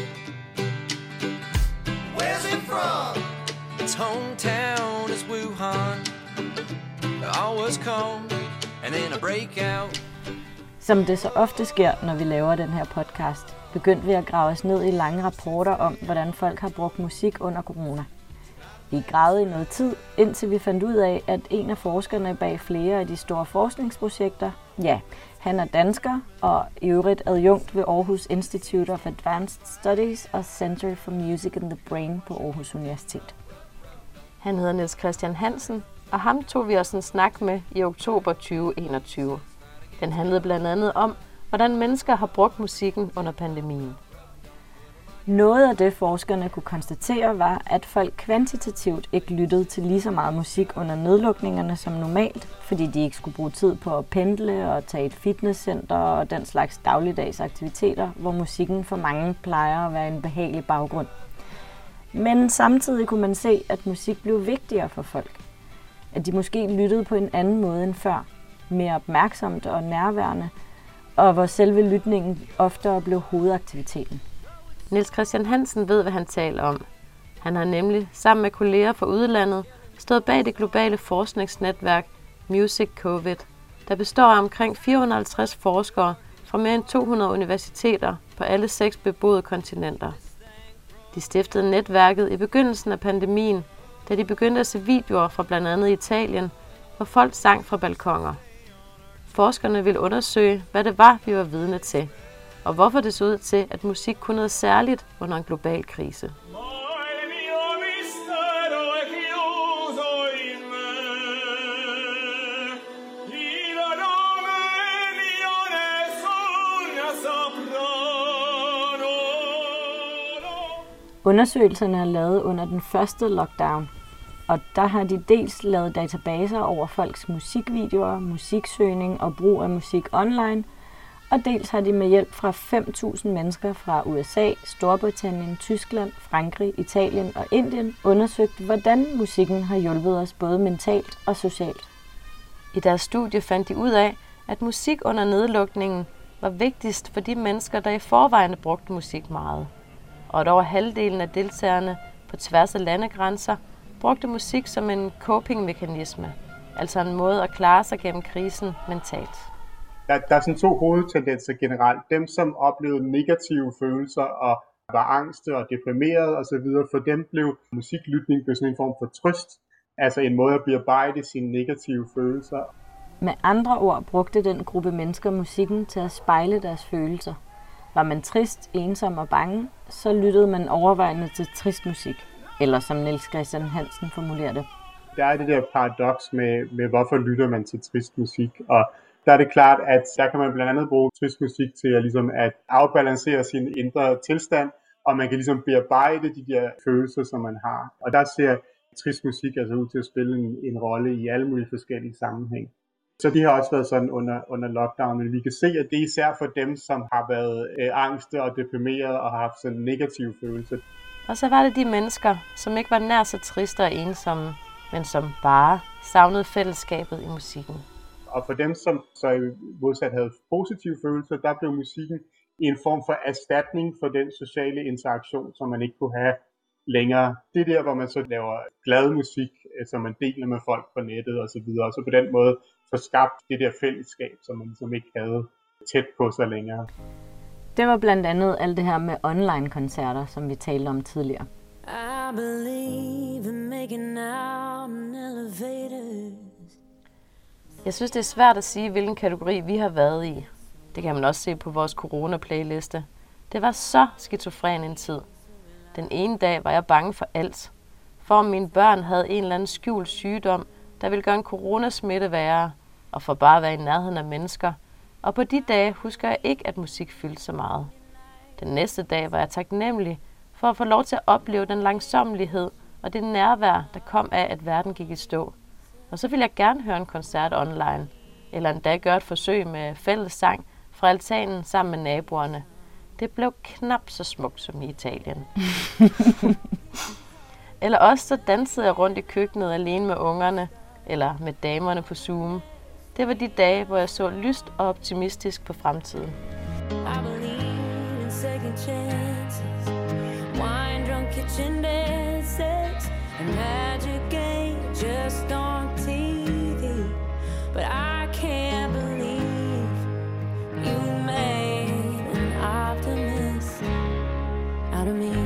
S14: Where's it from? Its hometown is Wuhan. All was calm, and then a breakout.
S3: Som det så ofte sker, når vi laver den her podcast, begyndte vi at grave os ned i lange rapporter om, hvordan folk har brugt musik under corona. Vi gravede i noget tid, indtil vi fandt ud af, at en af forskerne bag flere af de store forskningsprojekter, ja, han er dansker og i øvrigt adjunkt ved Aarhus Institute of Advanced Studies og Center for Music and the Brain på Aarhus Universitet.
S4: Han hedder Niels Christian Hansen, og ham tog vi også en snak med i oktober tyve enogtyve. Den handlede blandt andet om, hvordan mennesker har brugt musikken under pandemien.
S3: Noget af det, forskerne kunne konstatere, var, at folk kvantitativt ikke lyttede til lige så meget musik under nedlukningerne som normalt, fordi de ikke skulle bruge tid på at pendle og tage et fitnesscenter og den slags dagligdags aktiviteter, hvor musikken for mange plejer at være en behagelig baggrund. Men samtidig kunne man se, at musik blev vigtigere for folk. At de måske lyttede på en anden måde end før, mere opmærksomt og nærværende, og hvor selve lytningen oftere blev hovedaktiviteten.
S4: Niels Christian Hansen ved, hvad han taler om. Han har nemlig sammen med kolleger fra udlandet stået bag det globale forskningsnetværk Music Covid, der består af omkring fire hundrede og halvtreds forskere fra fra mere end to hundrede universiteter på alle seks beboede kontinenter. De stiftede netværket i begyndelsen af pandemien, da de begyndte at se videoer fra blandt andet Italien, hvor folk sang fra balkoner. Forskerne ville undersøge, hvad det var, vi var vidne til, og hvorfor det så ud til, at musik kunne noget særligt under en global krise.
S3: Undersøgelserne er lavet under den første lockdown, og der har de dels lavet databaser over folks musikvideoer, musiksøgning og brug af musik online, og dels har de med hjælp fra fem tusind mennesker fra U S A, Storbritannien, Tyskland, Frankrig, Italien og Indien undersøgt, hvordan musikken har hjulpet os både mentalt og socialt.
S4: I deres studie fandt de ud af, at musik under nedlukningen var vigtigst for de mennesker, der i forvejen brugte musik meget. Og at over halvdelen af deltagerne på tværs af landegrænser brugte musik som en coping-mekanisme, altså en måde at klare sig gennem krisen mentalt.
S17: Der, der er sådan to hovedtendenser generelt. Dem, som oplevede negative følelser og var angste og deprimeret osv., for dem blev musiklytning sådan en form for trøst, altså en måde at bearbejde sine negative følelser.
S3: Med andre ord brugte den gruppe mennesker musikken til at spejle deres følelser. Var man trist, ensom og bange, så lyttede man overvejende til trist musik, eller som Niels Christian Hansen formulerer det.
S17: Der er det der paradoks med, med, hvorfor lytter man til trist musik, og der er det klart, at der kan man blandt andet bruge trist musik til at, ligesom at afbalancere sin indre tilstand, og man kan ligesom bearbejde de der følelser, som man har. Og der ser trist musik altså ud til at spille en, en rolle i alle mulige forskellige sammenhæng. Så det har også været sådan under, under lockdown, men vi kan se, at det er især for dem, som har været øh, angste og deprimeret og har haft sådan negative følelser.
S4: Og så var det de mennesker, som ikke var nær så triste og ensomme, men som bare savnede fællesskabet i musikken.
S17: Og for dem, som så modsat havde positive følelser, der blev musikken en form for erstatning for den sociale interaktion, som man ikke kunne have længere. Det er der, hvor man så laver glad musik, som man deler med folk på nettet og så videre, og så på den måde får skabt det der fællesskab, som man ligesom ikke havde tæt på sig længere.
S3: Det var blandt andet alt det her med online-koncerter, som vi talte om tidligere.
S8: I believe in making out in elevators.
S4: Jeg synes, det er svært at sige, hvilken kategori vi har været i. Det kan man også se på vores corona-playliste. Det var så skizofren en tid. Den ene dag var jeg bange for alt. For om mine børn havde en eller anden skjult sygdom, der ville gøre en coronasmitte værre, og for bare at være i nærheden af mennesker. Og på de dage husker jeg ikke, at musik fyldte så meget. Den næste dag var jeg taknemmelig for at få lov til at opleve den langsommelighed og det nærvær, der kom af, at verden gik i stå. Og så ville jeg gerne høre en koncert online, eller endda gøre et forsøg med fælles sang fra altanen sammen med naboerne. Det blev knap så smukt som i Italien. Eller også så dansede jeg rundt i køkkenet alene med ungerne, eller med damerne på Zoom. Det var de dage, hvor jeg så lyst og optimistisk på fremtiden.
S8: I believe in second chances, wine drunk kitchen dances, and magic ain't just on T V. But I can't believe you made an optimist out of me.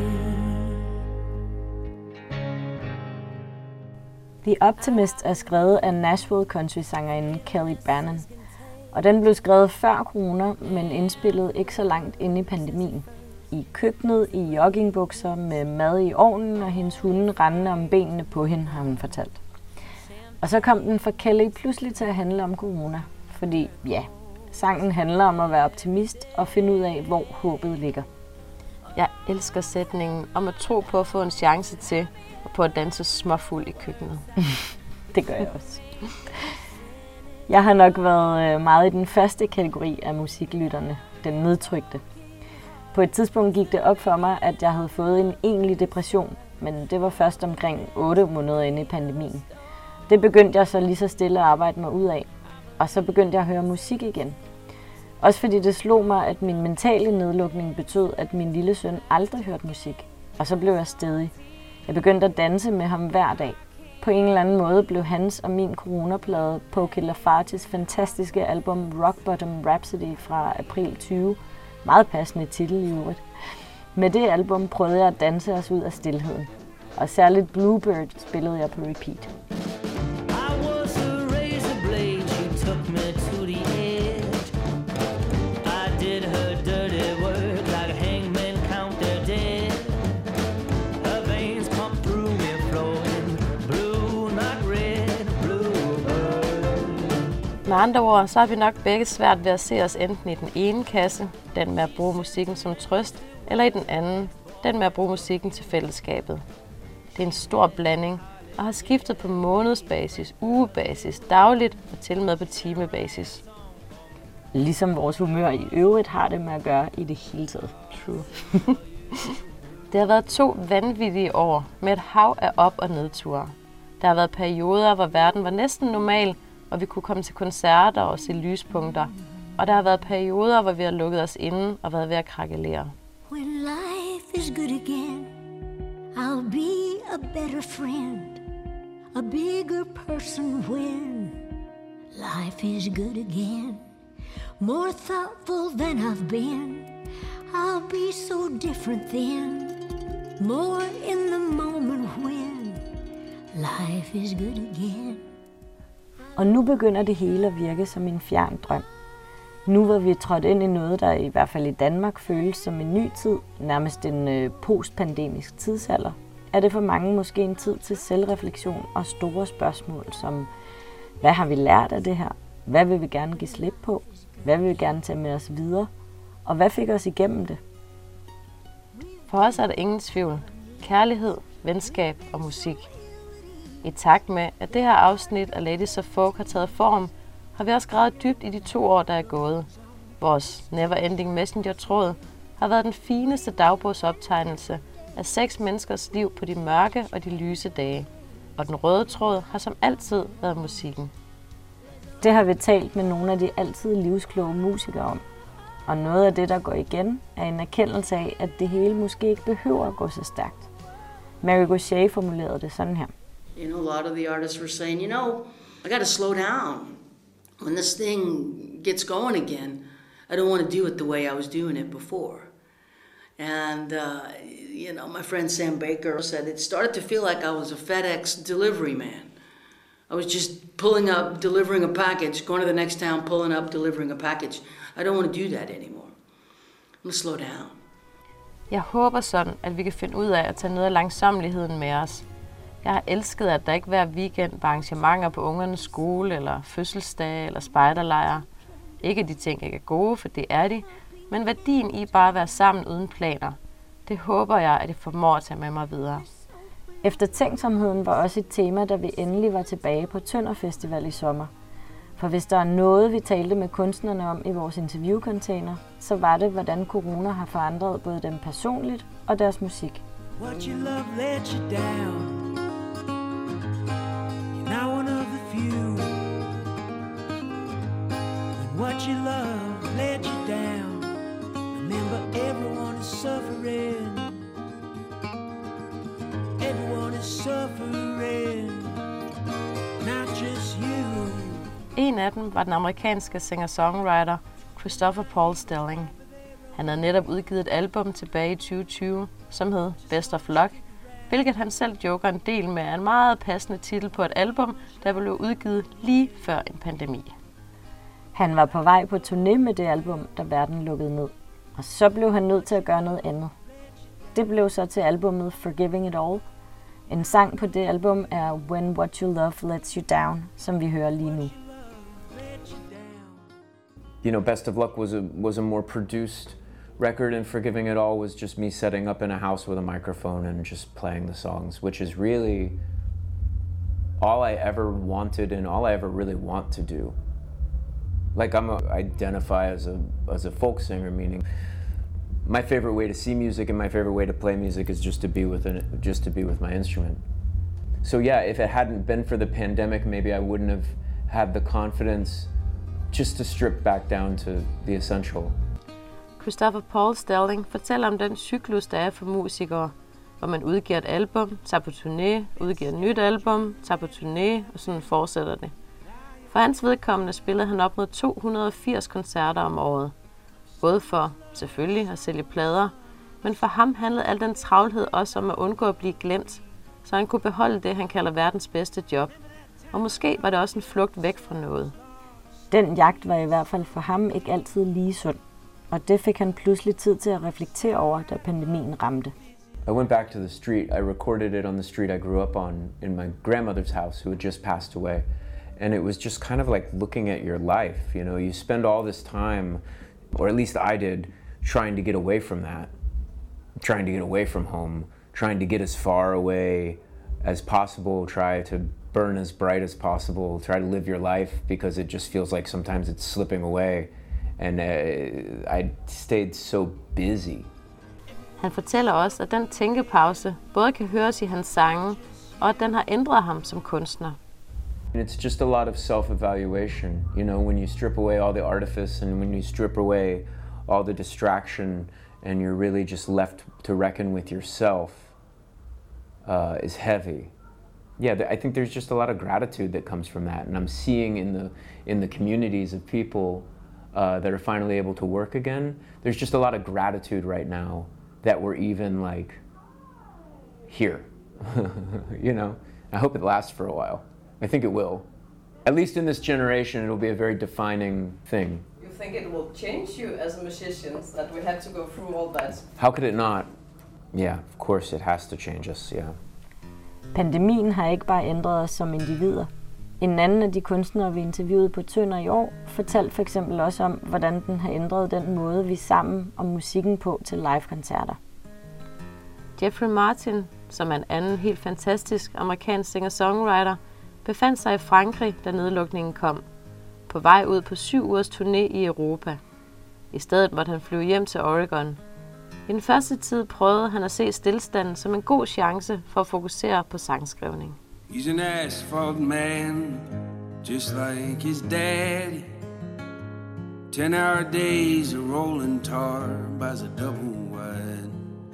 S3: The Optimist er skrevet af Nashville country-sangerinden Kelly Bannon. Og den blev skrevet før corona, men indspillet ikke så langt inde i pandemien. I køkkenet, i joggingbukser, med mad i ovnen og hendes hunde rendende om benene på hende, har hun fortalt. Og så kom den for Kelly pludselig til at handle om corona. Fordi ja, sangen handler om at være optimist og finde ud af, hvor håbet ligger.
S4: Jeg elsker sætningen om at tro på at få en chance til, og på at danse småfuld i køkkenet.
S3: Det gør jeg også. Jeg har nok været meget i den første kategori af musiklytterne, den nedtrykte. På et tidspunkt gik det op for mig, at jeg havde fået en egentlig depression, men det var først omkring otte måneder inde i pandemien. Det begyndte jeg så lige så stille at arbejde mig ud af, og så begyndte jeg at høre musik igen. Også fordi det slog mig, at min mentale nedlukning betød, at min lille søn aldrig hørte musik, og så blev jeg stædig. Jeg begyndte at danse med ham hver dag. På en eller anden måde blev hans og min coronaplade Poke Lafarges fantastiske album Rock Bottom Rhapsody fra april tyve, meget passende titel i øvrigt. Med det album prøvede jeg at danse os ud af stilheden, og særligt Bluebird spillede jeg på repeat.
S4: Med andre ord, så har vi nok begge svært ved at se os enten i den ene kasse, den med at bruge musikken som trøst, eller i den anden, den med at bruge musikken til fællesskabet. Det er en stor blanding, og har skiftet på månedsbasis, ugebasis, dagligt og til og med på timebasis.
S3: Ligesom vores humør i øvrigt har det med at gøre i det hele taget.
S4: True. Det har været to vanvittige år med et hav af op- og nedture. Der har været perioder, hvor verden var næsten normal, og vi kunne komme til koncerter og se lyspunkter. Og der har været perioder, hvor vi har lukket os inde og været ved at krakelere.
S8: When life is good again, I'll be a better friend, a bigger person when life is good again. More thoughtful than I've been, I'll be so different then. More in the moment when life is good again.
S3: Og nu begynder det hele at virke som en fjern drøm. Nu hvor vi er trådt ind i noget, der i hvert fald i Danmark føles som en ny tid, nærmest en øh, postpandemisk tidsalder, er det for mange måske en tid til selvreflektion og store spørgsmål som, hvad har vi lært af det her? Hvad vil vi gerne give slip på? Hvad vil vi gerne tage med os videre? Og hvad fik os igennem det?
S4: For os er der ingen tvivl. Kærlighed, venskab og musik. I takt med, at det her afsnit af Ladies of Folk har taget form, har vi også gravet dybt i de to år, der er gået. Vores Neverending Messenger-tråd har været den fineste dagbogsoptegnelse af seks menneskers liv på de mørke og de lyse dage. Og den røde tråd har som altid været musikken.
S3: Det har vi talt med nogle af de altid livskloge musikere om. Og noget af det, der går igen, er en erkendelse af, at det hele måske ikke behøver at gå så stærkt. Mary Gauthier formulerede det sådan her.
S12: You know, a lot of the artists were saying, you know, I got to slow down. When this thing gets going again, I don't want to do it the way I was doing it before. And, uh, you know, my friend Sam Baker said it started to feel like I was a FedEx delivery man. I was just pulling up, delivering a package, going to the next town, pulling up, delivering a package. I don't want to do that anymore. I'm going to slow down.
S4: Jeg håber sådan, at vi kan finde ud af at tage noget af langsommeligheden med os. Jeg har elsket, at der ikke hver weekend var arrangementer på ungernes skole, eller fødselsdage, eller spejderlejre. Ikke at de ting ikke er gode, for det er de, men værdien i bare at være sammen uden planer. Det håber jeg, at jeg formår at tage med mig videre.
S3: Eftertænksomheden var også et tema, da vi endelig var tilbage på Tønder Festival i sommer. For hvis der er noget, vi talte med kunstnerne om i vores interviewcontainer, så var det, hvordan corona har forandret både dem personligt og deres musik.
S2: What you love let you down. You're not one of the few. When what you love let you down, remember everyone is suffering. Everyone is suffering, not just you.
S4: En af dem var den amerikanske singer-songwriter Christopher Paul Stelling. Han havde netop udgivet et album tilbage i tyve tyve, som hed Best of Luck, hvilket han selv joker en del med en meget passende titel på et album, der blev udgivet lige før en pandemi.
S3: Han var på vej på turné med det album, da verden lukkede ned. Og så blev han nødt til at gøre noget andet. Det blev så til albumet Forgiving It All. En sang på det album er When What You Love Lets You Down, som vi hører lige nu.
S18: You know, Best of Luck was a was a more produced record, and Forgiving It All was just me setting up in a house with a microphone and just playing the songs, which is really all I ever wanted and all I ever really want to do. Like I'm a, identify as a as a folk singer, meaning my favorite way to see music and my favorite way to play music is just to be with it, just to be with my instrument. So yeah, if it hadn't been for the pandemic, maybe I wouldn't have had the confidence just to strip back down to the essential.
S4: Christopher Paul Stelling fortæller om den cyklus, der er for musikere. hvor man udgiver et album, tager på turné, udgiver et nyt album, tager på turné, og sådan fortsætter det. For hans vedkommende spillede han op mod to hundrede og firs koncerter om året. Både for, selvfølgelig, at sælge plader, men for ham handlede al den travlhed også om at undgå at blive glemt, så han kunne beholde det, han kalder verdens bedste job. Og måske var det også en flugt væk fra noget.
S3: Den jagt var i hvert fald for ham ikke altid lige sund, og det fik han pludselig tid til at reflektere over, da pandemien ramte.
S18: I went back to the street. I recorded it on the street I grew up on in my grandmother's house, who had just passed away. And it was just kind of like looking at your life. You know, you spend all this time, or at least I did, trying to get away from that, trying to get away from home, trying to get as far away as possible, try to burn as bright as possible, try to live your life, because it just feels like sometimes it's slipping away. And uh, I stayed so busy.
S4: Han fortæller også, at den tænkepause både kan høres i hans sange, og at den har ændret ham som kunstner.
S18: It's just a lot of self-evaluation, you know, when you strip away all the artifice and when you strip away all the distraction and you're really just left to reckon with yourself uh, is heavy. Yeah, I think there's just a lot of gratitude that comes from that, and I'm seeing in the in the communities of people uh, that are finally able to work again. There's just a lot of gratitude right now that we're even like here, you know. I hope it lasts for a while. I think it will. At least in this generation, it will be a very defining thing.
S15: You think it will change you as a musician, that we had to go through all that?
S18: How could it not? Yeah, of course it has to change us, yeah.
S3: Pandemien har ikke bare ændret os som individer. En anden af de kunstnere, vi interviewede på Tønder i år, fortalte for eksempel også om, hvordan den har ændret den måde, vi er sammen om musikken på til live-koncerter.
S4: Jeffrey Martin, som er en anden helt fantastisk amerikansk singer-songwriter, befandt sig i Frankrig, da nedlukningen kom, på vej ud på syv ugers turné i Europa. I stedet måtte han flyve hjem til Oregon. I den første tid prøvede han at se stilstanden som en god chance for at fokusere på sangskrivning.
S2: He's an asphalt man, just like his daddy. Ten hour days of rolling tar buys a double wide.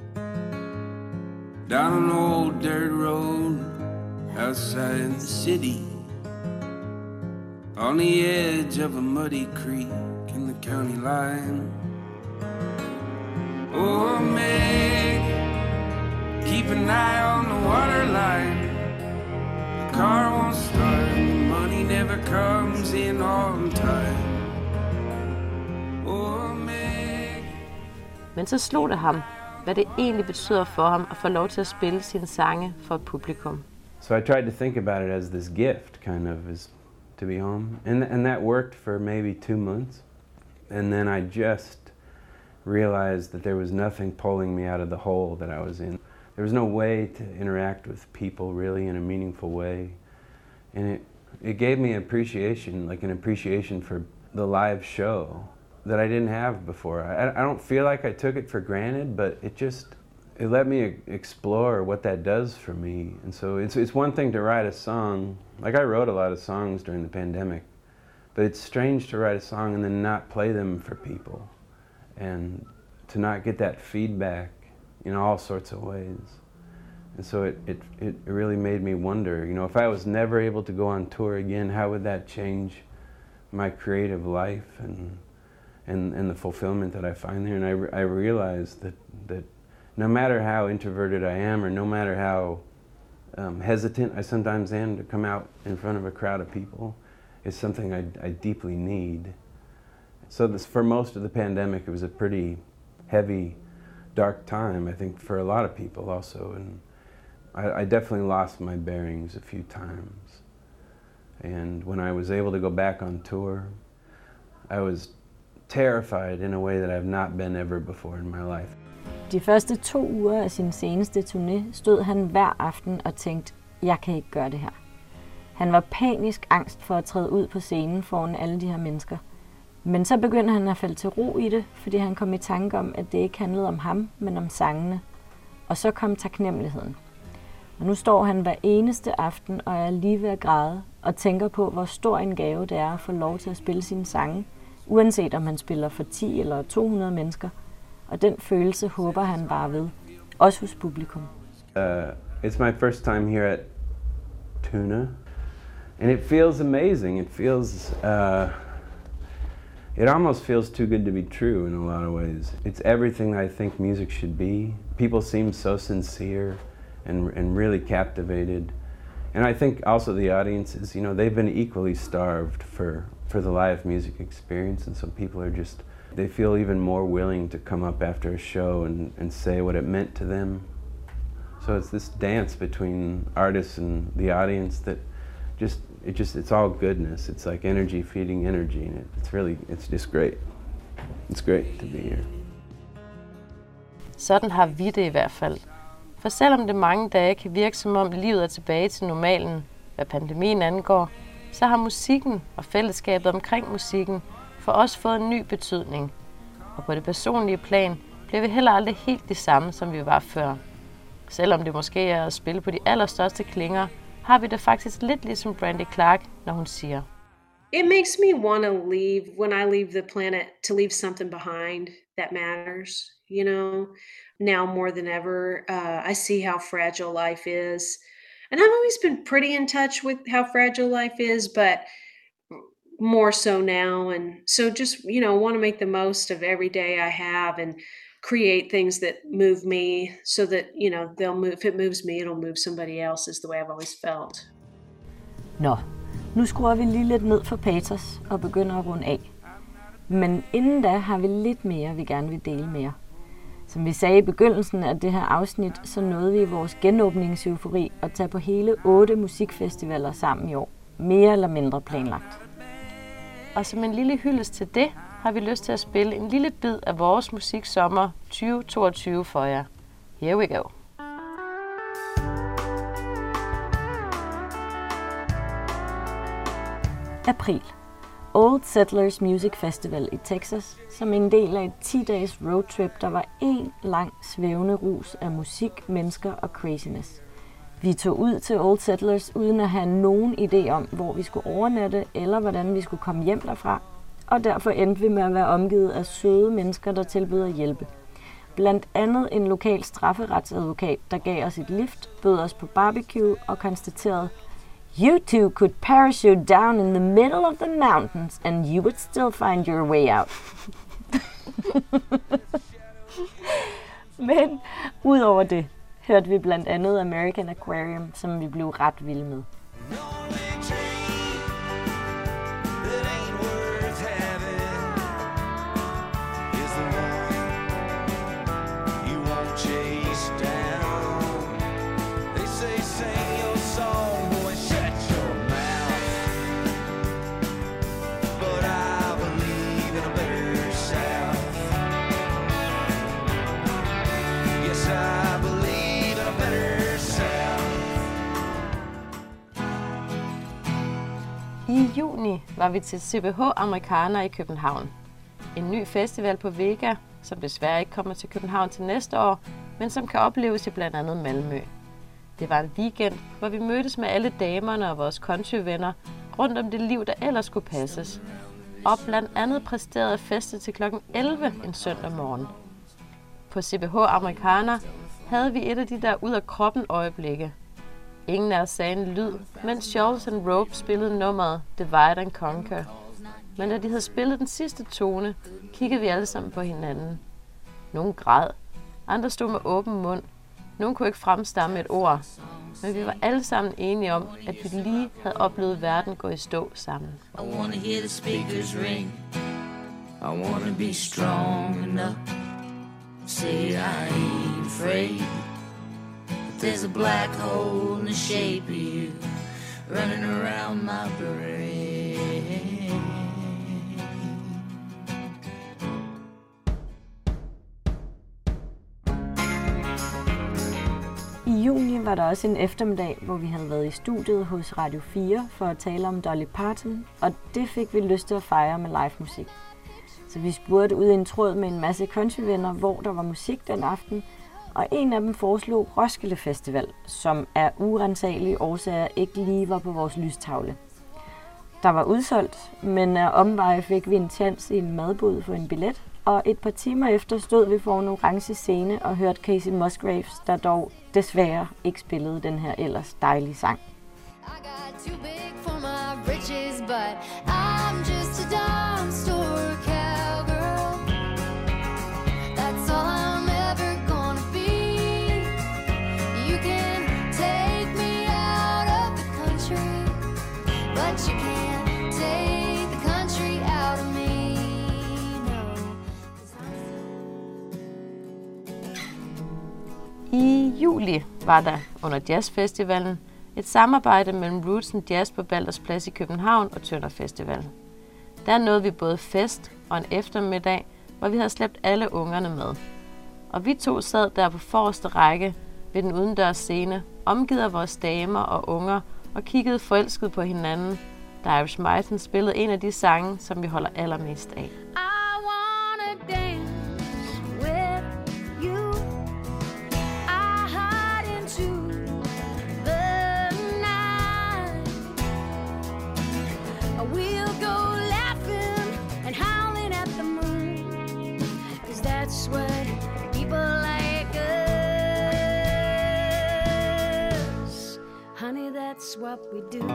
S2: Down an old dirt road outside the city, on the edge of a muddy creek in the county line. Oh, Meg, keep an eye on the water line. The car won't start, the money never comes in on time. Oh, Meg.
S4: Men så slog det ham, hvad det egentlig betyder for ham at få lov til at spille sine sange for et publikum.
S19: So I tried to think about it as this gift, kind of, as to be home. And, and that worked for maybe two months. And then I just realized that there was nothing pulling me out of the hole that I was in. There was no way to interact with people really in a meaningful way. And it, it gave me appreciation, like an appreciation for the live show that I didn't have before. I, I don't feel like I took it for granted, but it just, it let me explore what that does for me. And so it's, it's one thing to write a song. Like I wrote a lot of songs during the pandemic, but it's strange to write a song and then not play them for people and to not get that feedback in all sorts of ways. And so it, it, it really made me wonder, you know, if I was never able to go on tour again, how would that change my creative life and, and, and the fulfillment that I find there? And I, I realized that, that no matter how introverted I am, or no matter how um, hesitant I sometimes am to come out in front of a crowd of people, it's something I, I deeply need. So this, for most of the pandemic, it was a pretty heavy, dark time, I think, for a lot of people also. And I, I definitely lost my bearings a few times. And when I was able to go back on tour, I was terrified in a way that I've not been ever before in my life.
S3: De første to uger af sin seneste turné stod han hver aften og tænkte, jeg kan ikke gøre det her. Han var panisk angst for at træde ud på scenen foran alle de her mennesker. Men så begyndte han at falde til ro i det, fordi han kom i tanke om, at det ikke handlede om ham, men om sangene. Og så kom taknemmeligheden. Og nu står han hver eneste aften og er lige ved at græde, og tænker på, hvor stor en gave det er at få lov til at spille sine sange, uanset om han spiller for ti eller to hundrede mennesker. Og den følelse håber han bare ved, også hos publikum.
S19: Uh, it's my first time here at Tuna, and it feels amazing. It feels, uh, it almost feels too good to be true in a lot of ways. It's everything I think music should be. People seem so sincere and, and really captivated. And I think also the audiences, you know, they've been equally starved for, for the live music experience, and so people are just, they feel even more willing to come up after a show and, and say what it meant to them. So it's this dance between artists and the audience that just, it just, it's all goodness. It's like energy feeding energy, and it, it's really, it's just great. It's great to be here.
S4: Sådan har vi det i hvert fald. For selvom det mange dage kan virke som om livet er tilbage til normalen, hvad pandemien angår, så har musikken og fællesskabet omkring musikken for os fået en ny betydning. Og på det personlige plan bliver vi heller aldrig helt de samme, som vi var før. Selvom det måske er at spille på de allerstørste klinger, har vi det faktisk lidt ligesom Brandy Clark, når hun siger:
S5: It makes me want to leave when I leave the planet, to leave something behind that matters, you know. Now more than ever, uh, I see how fragile life is. And I've always been pretty in touch with how fragile life is, but more so now. And so just, you know, want to make the most of every day I have and create things that move me so that, you know, they'll move. If it moves me, it'll move somebody else, is the way I've always felt.
S3: Nå, nu skruer vi lige lidt ned for patos og begynder at runde af. Men inden da har vi lidt mere, vi gerne vil dele med jer. Som vi sagde i begyndelsen af det her afsnit, så nåede vi i vores genåbningseufori at tage på hele otte musikfestivaler sammen i år. Mere eller mindre planlagt.
S4: Og som en lille hyldest til det, har vi lyst til at spille en lille bid af vores musiksommer tyve toogtyve for jer. Here we go.
S3: April. Old Settlers Music Festival i Texas, som en del af et ti-dages roadtrip, der var en lang svævende rus af musik, mennesker og craziness. Vi tog ud til Old Settlers uden at have nogen idé om, hvor vi skulle overnatte eller hvordan vi skulle komme hjem derfra, og derfor endte vi med at være omgivet af søde mennesker, der tilbød at hjælpe. Blandt andet en lokal strafferetsadvokat, der gav os et lift, bød os på barbecue og konstaterede: "You two could parachute down in the middle of the mountains, and you would still find your way out." Men udover det, hørte vi blandt andet American Aquarium, som vi blev ret vilde med.
S4: I juni var vi til C B H Americana i København. En ny festival på Vega, som desværre ikke kommer til København til næste år, men som kan opleves i blandt andet Malmø. Det var en weekend, hvor vi mødtes med alle damerne og vores countryvenner rundt om det liv, der ellers skulle passes. Og blandt andet præsterede at feste til klokken elleve en søndag morgen. På C B H Americana havde vi et af de der ud af kroppen øjeblikke. Ingen af os sagde en lyd, mens Shawls and Rope spillede nummeret Divide and Conquer. Men da de havde spillet den sidste tone, kiggede vi alle sammen på hinanden. Nogle græd, andre stod med åben mund, nogle kunne ikke fremstamme et ord. Men vi var alle sammen enige om, at vi lige havde oplevet verden gå i stå sammen.
S8: I wanna hear the speakers ring. I wanna be strong enough. Say I ain't afraid. There's a black hole in the shape of you running around my brain.
S3: I juni var der også en eftermiddag, hvor vi havde været i studiet hos Radio fire for at tale om Dolly Parton, og det fik vi lyst til at fejre med live musik. Så vi spurgte ud i en tråd med en masse countryvenner, hvor der var musik den aften, og en af dem foreslog Roskilde Festival, som af urensagelige årsager ikke lige var på vores lystavle. Der var udsolgt, men af omveje fik vi en chance i en madbod for en billet, og et par timer efter stod vi foran en orange scene og hørte Kacey Musgraves, der dog desværre ikke spillede den her ellers dejlige sang.
S8: Too big for my britches, but I'm just a dumb store cowgirl. That's all I'm ever gonna be. You can take me out of the country, but you can't take the country out of me. No.
S4: I juli var der under Jazzfestivalen et samarbejde mellem Roots and Jazz på Balders Plads i København og Tønder Festival. Der nåede vi både fest og en eftermiddag, hvor vi havde slæbt alle ungerne med. Og vi to sad der på forreste række ved den udendørs scene, omgivet af vores damer og unger, og kiggede forelsket på hinanden, da Irish Myton spillede en af de sange, som vi holder allermest af.
S8: That's what we do.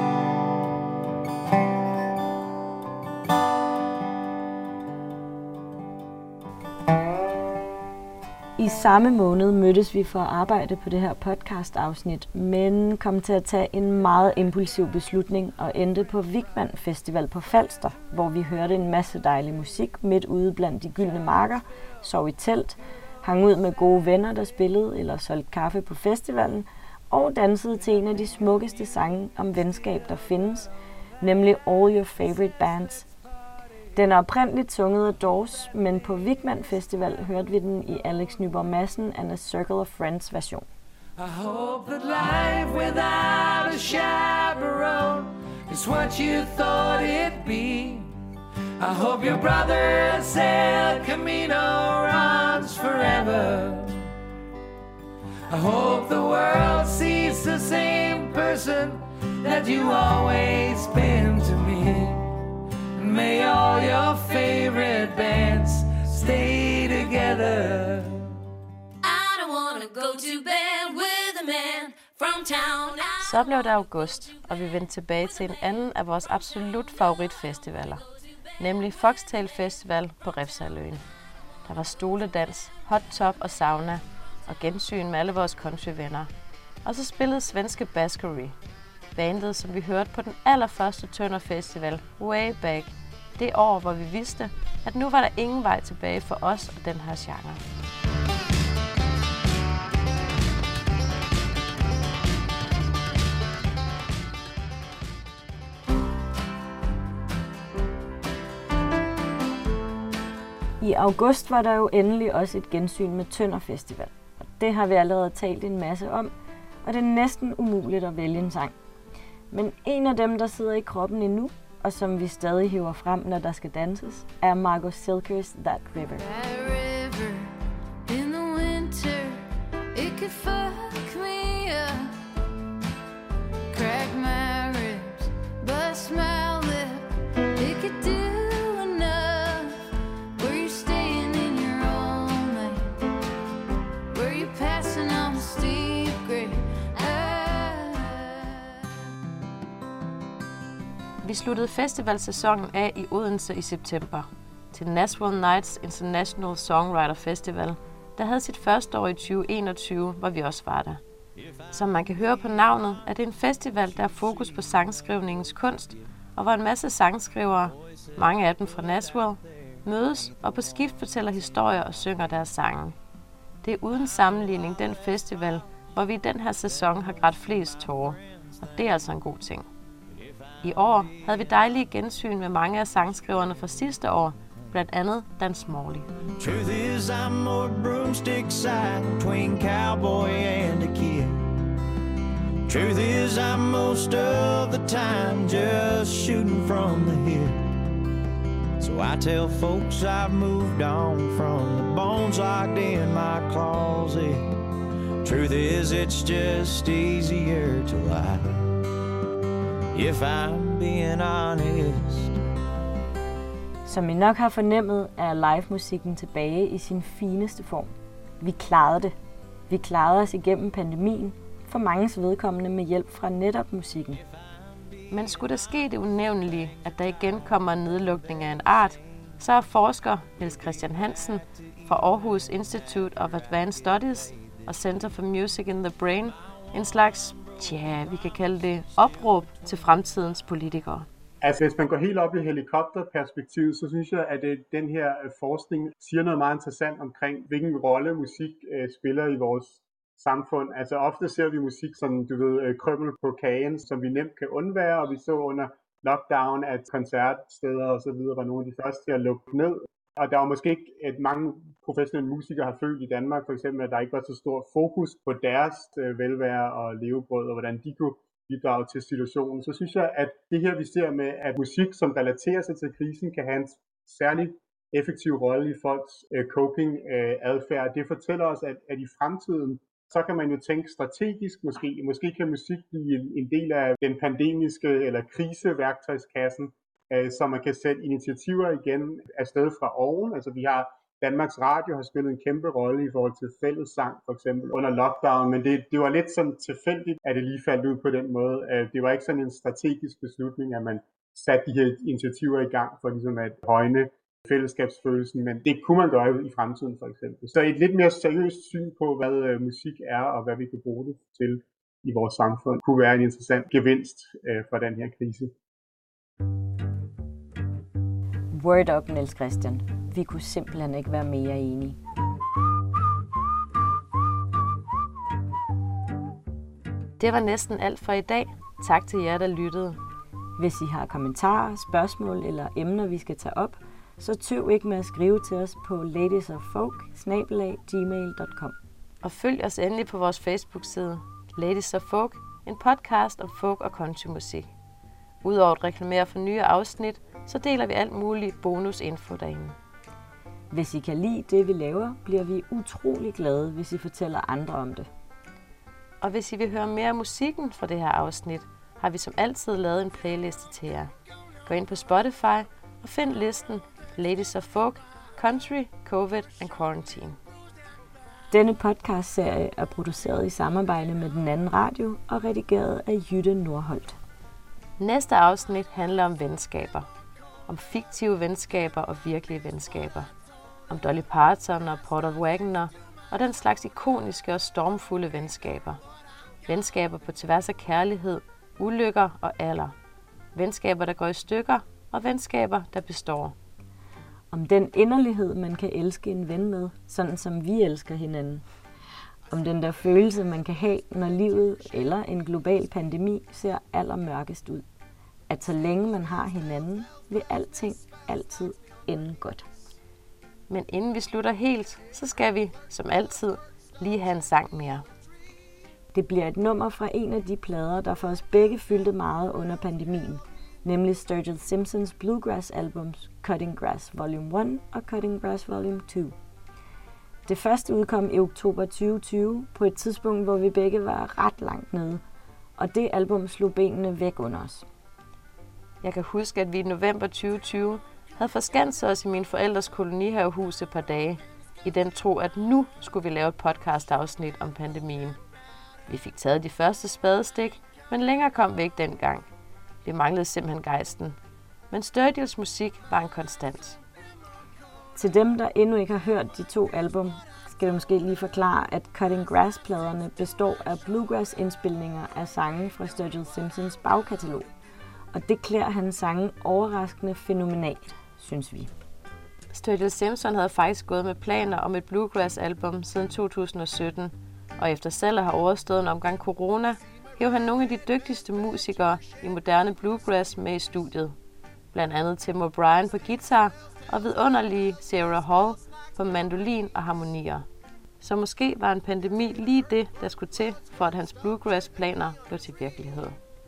S3: I samme måned mødtes vi for at arbejde på det her podcast-afsnit, men kom til at tage en meget impulsiv beslutning og endte på Vigman Festival på Falster, hvor vi hørte en masse dejlig musik midt ude blandt de gyldne marker, sov i telt, hang ud med gode venner, der spillede eller solgte kaffe på festivalen, og dansede til en af de smukkeste sange om venskab, der findes, nemlig All Your Favorite Bands. Den er oprindeligt sunget af Doors, men på Vigman Festival hørte vi den i Alex Nyborg Madsen and a Circle of Friends version.
S14: I hope that life without a chaperone is what you thought it'd be. I hope your brother El Camino runs forever. I hope the world sees the same person that you always been to me. And may all your favorite bands stay together.
S8: I don't wanna go to bed with a man from town.
S4: Så blev det august, og vi vendte tilbage til en anden af vores absolut favoritfestivaler, nemlig Foxtail Festival på Refshaleøen. Der var stoledans, hot top og sauna, og gensyn med alle vores countryvenner. Og så spillede svenske Baskery, bandet, som vi hørte på den allerførste Tønder Festival, way back, det år, hvor vi vidste, at nu var der ingen vej tilbage for os og den her genre.
S3: I august var der jo endelig også et gensyn med Tønder Festival. Og det har vi allerede talt en masse om, og det er næsten umuligt at vælge en sang. Men en af dem, der sidder i kroppen endnu, og som vi stadig hiver frem, når der skal danses, er Margot Silkers That River.
S8: That river in the winter, it could fuck me up, crack my ribs, bust my lip, it could do.
S4: Vi sluttede festivalsæsonen af i Odense i september til Nashville Nights International Songwriter Festival, der havde sit første år i tyve enogtyve, hvor vi også var der. Som man kan høre på navnet, er det en festival, der har fokus på sangskrivningens kunst, og hvor en masse sangskrivere, mange af dem fra Nashville, mødes og på skift fortæller historier og synger deres sange. Det er uden sammenligning den festival, hvor vi i den her sæson har grædt flest tårer, og det er altså en god ting. I år havde vi dejlige gensyn med mange af sangskriverne fra sidste år, blandt andet Dan Smalley.
S2: Truth is I'm more broomstick side between cowboy and a kid. Truth is I'm most of the time just shooting from the hip. So I tell folks I've moved on from the bones locked in my closet. Truth is it's just easier to lie, if I'm being honest.
S3: Som I nok har fornemmet, er live-musikken tilbage i sin fineste form. Vi klarede det. Vi klarede os igennem pandemien, for manges vedkommende med hjælp fra netop musikken.
S4: Men skulle der ske det unævnelige, at der igen kommer en nedlukning af en art, så er forsker Niels Christian Hansen fra Aarhus Institute of Advanced Studies og Center for Music in the Brain en slags, tja, vi kan kalde det opråb til fremtidens politikere.
S17: Altså hvis man går helt op i helikopterperspektivet, så synes jeg, at den her forskning siger noget meget interessant omkring, hvilken rolle musik øh, spiller i vores samfund. Altså ofte ser vi musik som, du ved, krømmel på kagen, som vi nemt kan undvære, og vi så under lockdown, at koncertsteder og så videre var nogle af de første til at lukke ned. Og der var måske ikke, at mange professionelle musikere har følt i Danmark, for eksempel, at der ikke var så stor fokus på deres øh, velvære og levebrød, og hvordan de kunne bidrage til situationen. Så synes jeg, at det her, vi ser med, at musik, som relaterer sig til krisen, kan have en særlig effektiv rolle i folks øh, coping-adfærd. Øh, det fortæller os, at, at i fremtiden, så kan man jo tænke strategisk måske. Måske kan musik blive en, en del af den pandemiske eller kriseværktøjskassen, øh, så man kan sætte initiativer igen afsted fra oven. Altså vi har Danmarks Radio har spillet en kæmpe rolle i forhold til fællessang for eksempel under lockdown, men det, det var lidt sådan tilfældigt, at det lige faldt ud på den måde. Det var ikke sådan en strategisk beslutning, at man satte de her initiativer i gang for ligesom at højne fællesskabsfølelsen, men det kunne man gøre i fremtiden for eksempel. Så et lidt mere seriøst syn på, hvad øh, musik er og hvad vi kan bruge det til i vores samfund, kunne være en interessant gevinst øh, for den her krise.
S3: Word up, Niels Christian. Vi kunne simpelthen ikke være mere enige.
S4: Det var næsten alt for i dag. Tak til jer, der lyttede.
S3: Hvis I har kommentarer, spørgsmål eller emner, vi skal tage op, så tøv ikke med at skrive til os på ladiesof-folk bindestreg gmail punktum com.
S4: Og følg os endelig på vores Facebook-side, Ladies of Folk, en podcast om folk og countrymusik. Udover at reklamere for nye afsnit, så deler vi alt muligt bonusinfo derinde.
S3: Hvis I kan lide det, vi laver, bliver vi utrolig glade, hvis I fortæller andre om det.
S4: Og hvis I vil høre mere af musikken fra det her afsnit, har vi som altid lavet en playliste til jer. Gå ind på Spotify og find listen Ladies of Folk, Country, Covid and Quarantine.
S3: Denne podcastserie er produceret i samarbejde med Den Anden Radio og redigeret af Jytte Nordholt.
S4: Næste afsnit handler om venskaber. Om fiktive venskaber og virkelige venskaber. Om Dolly Parton og Porter Wagoner og den slags ikoniske og stormfulde venskaber. Venskaber på tværs af kærlighed, ulykker og alder. Venskaber, der går i stykker, og venskaber, der består.
S3: Om den inderlighed, man kan elske en ven med, sådan som vi elsker hinanden. Om den der følelse, man kan have, når livet eller en global pandemi ser allermørkest ud. At så længe man har hinanden, vil alting altid ende godt.
S4: Men inden vi slutter helt, så skal vi, som altid, lige have en sang mere.
S3: Det bliver et nummer fra en af de plader, der for os begge fyldte meget under pandemien, nemlig Sturgill Simpsons Bluegrass-albums Cutting Grass Volume et og Cutting Grass Volume to. Det første udkom i oktober tyve tyve, på et tidspunkt, hvor vi begge var ret langt nede, og det album slog benene væk under os.
S4: Jeg kan huske, at vi i november tyve tyve havde forskanset os i min forældres kolonihavehus et par dage, i den tro, at nu skulle vi lave et podcast-afsnit om pandemien. Vi fik taget de første spadestik, men længere kom vi ikke dengang. Vi manglede simpelthen gejsten. Men Sturgills musik var en konstant.
S3: Til dem, der endnu ikke har hørt de to album, skal jeg måske lige forklare, at Cutting Grass-pladerne består af bluegrass-indspilninger af sange fra Sturgill Simpsons bagkatalog. Og det klæder hans sange overraskende fænomenalt, synes vi.
S4: Sturgill Simpson havde faktisk gået med planer om et bluegrass-album siden to tusind og sytten, og efter selv at have overstået en omgang corona, hæv han nogle af de dygtigste musikere i moderne bluegrass med i studiet. Blandt andet Tim O'Brien på guitar og vidunderlige Sarah Hall på mandolin og harmonier. Så måske var en pandemi lige det, der skulle til, for at hans bluegrass-planer blev til virkelighed.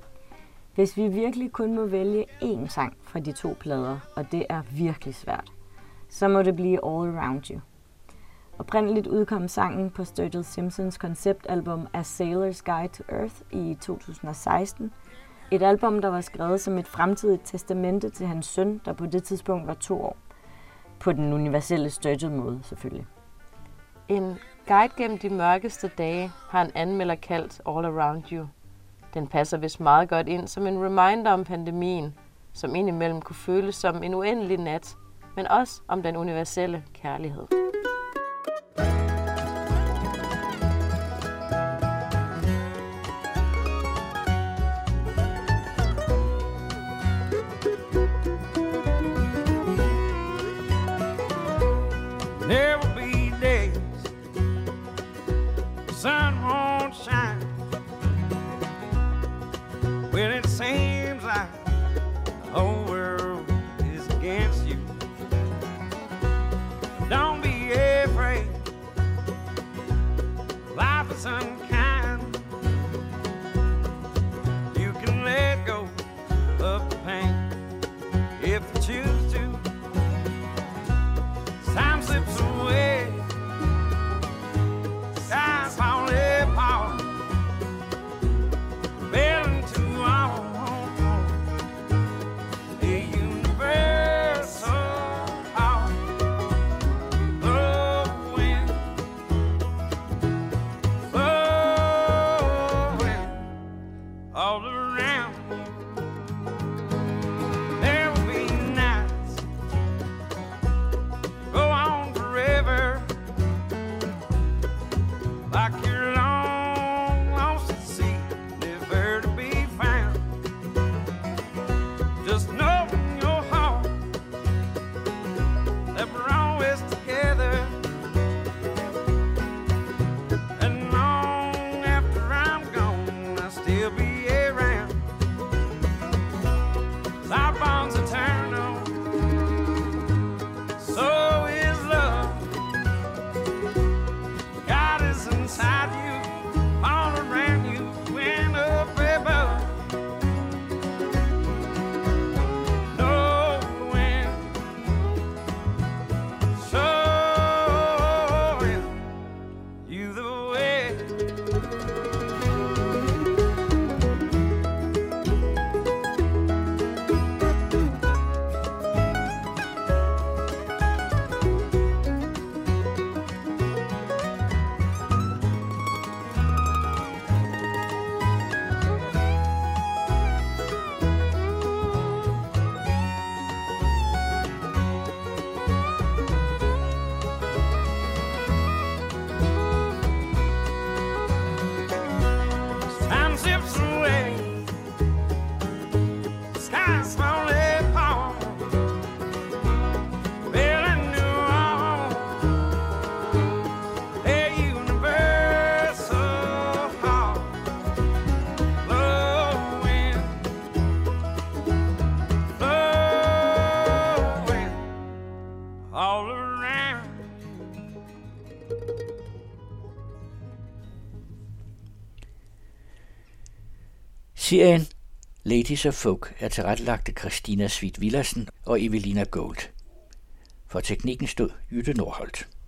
S3: Hvis vi virkelig kun må vælge én sang fra de to plader, og det er virkelig svært, så må det blive All Around You. Oprindeligt udkom sangen på Sturgill Simpsons konceptalbum A Sailor's Guide to Earth i to tusind og seksten, Et album, der var skrevet som et fremtidigt testamente til hans søn, der på det tidspunkt var to år. På den universelle Sturgill-måde, selvfølgelig.
S4: En guide gennem de mørkeste dage har en anmelder kaldt All Around You. Den passer vist meget godt ind som en reminder om pandemien, som indimellem kunne føles som en uendelig nat, men også om den universelle kærlighed.
S2: There will be days the sun won't shine, when it seems like the whole world is against you. Don't be afraid, life is unkind. You can let go of the pain if you choose to. Time slips away, skies fall apart, fell into our a universal heart. Flowing, flowing all around. There will be nights go on forever, like you're long lost at sea, never to be found. Just know in your heart that we're always together, and long after I'm gone, I'll still be around. Our bond's eternal, so is love. God is inside you, all around you, and up above. Knowing, showing you the way. Time slips away, skies fall apart, fell into our a universal heart. Flowing, flowing all around.
S1: Serien Ladies of Folk er tilrettelagt af Christina Sweet Villadsen og Evelina Gold. For teknikken stod Jytte Nordholt.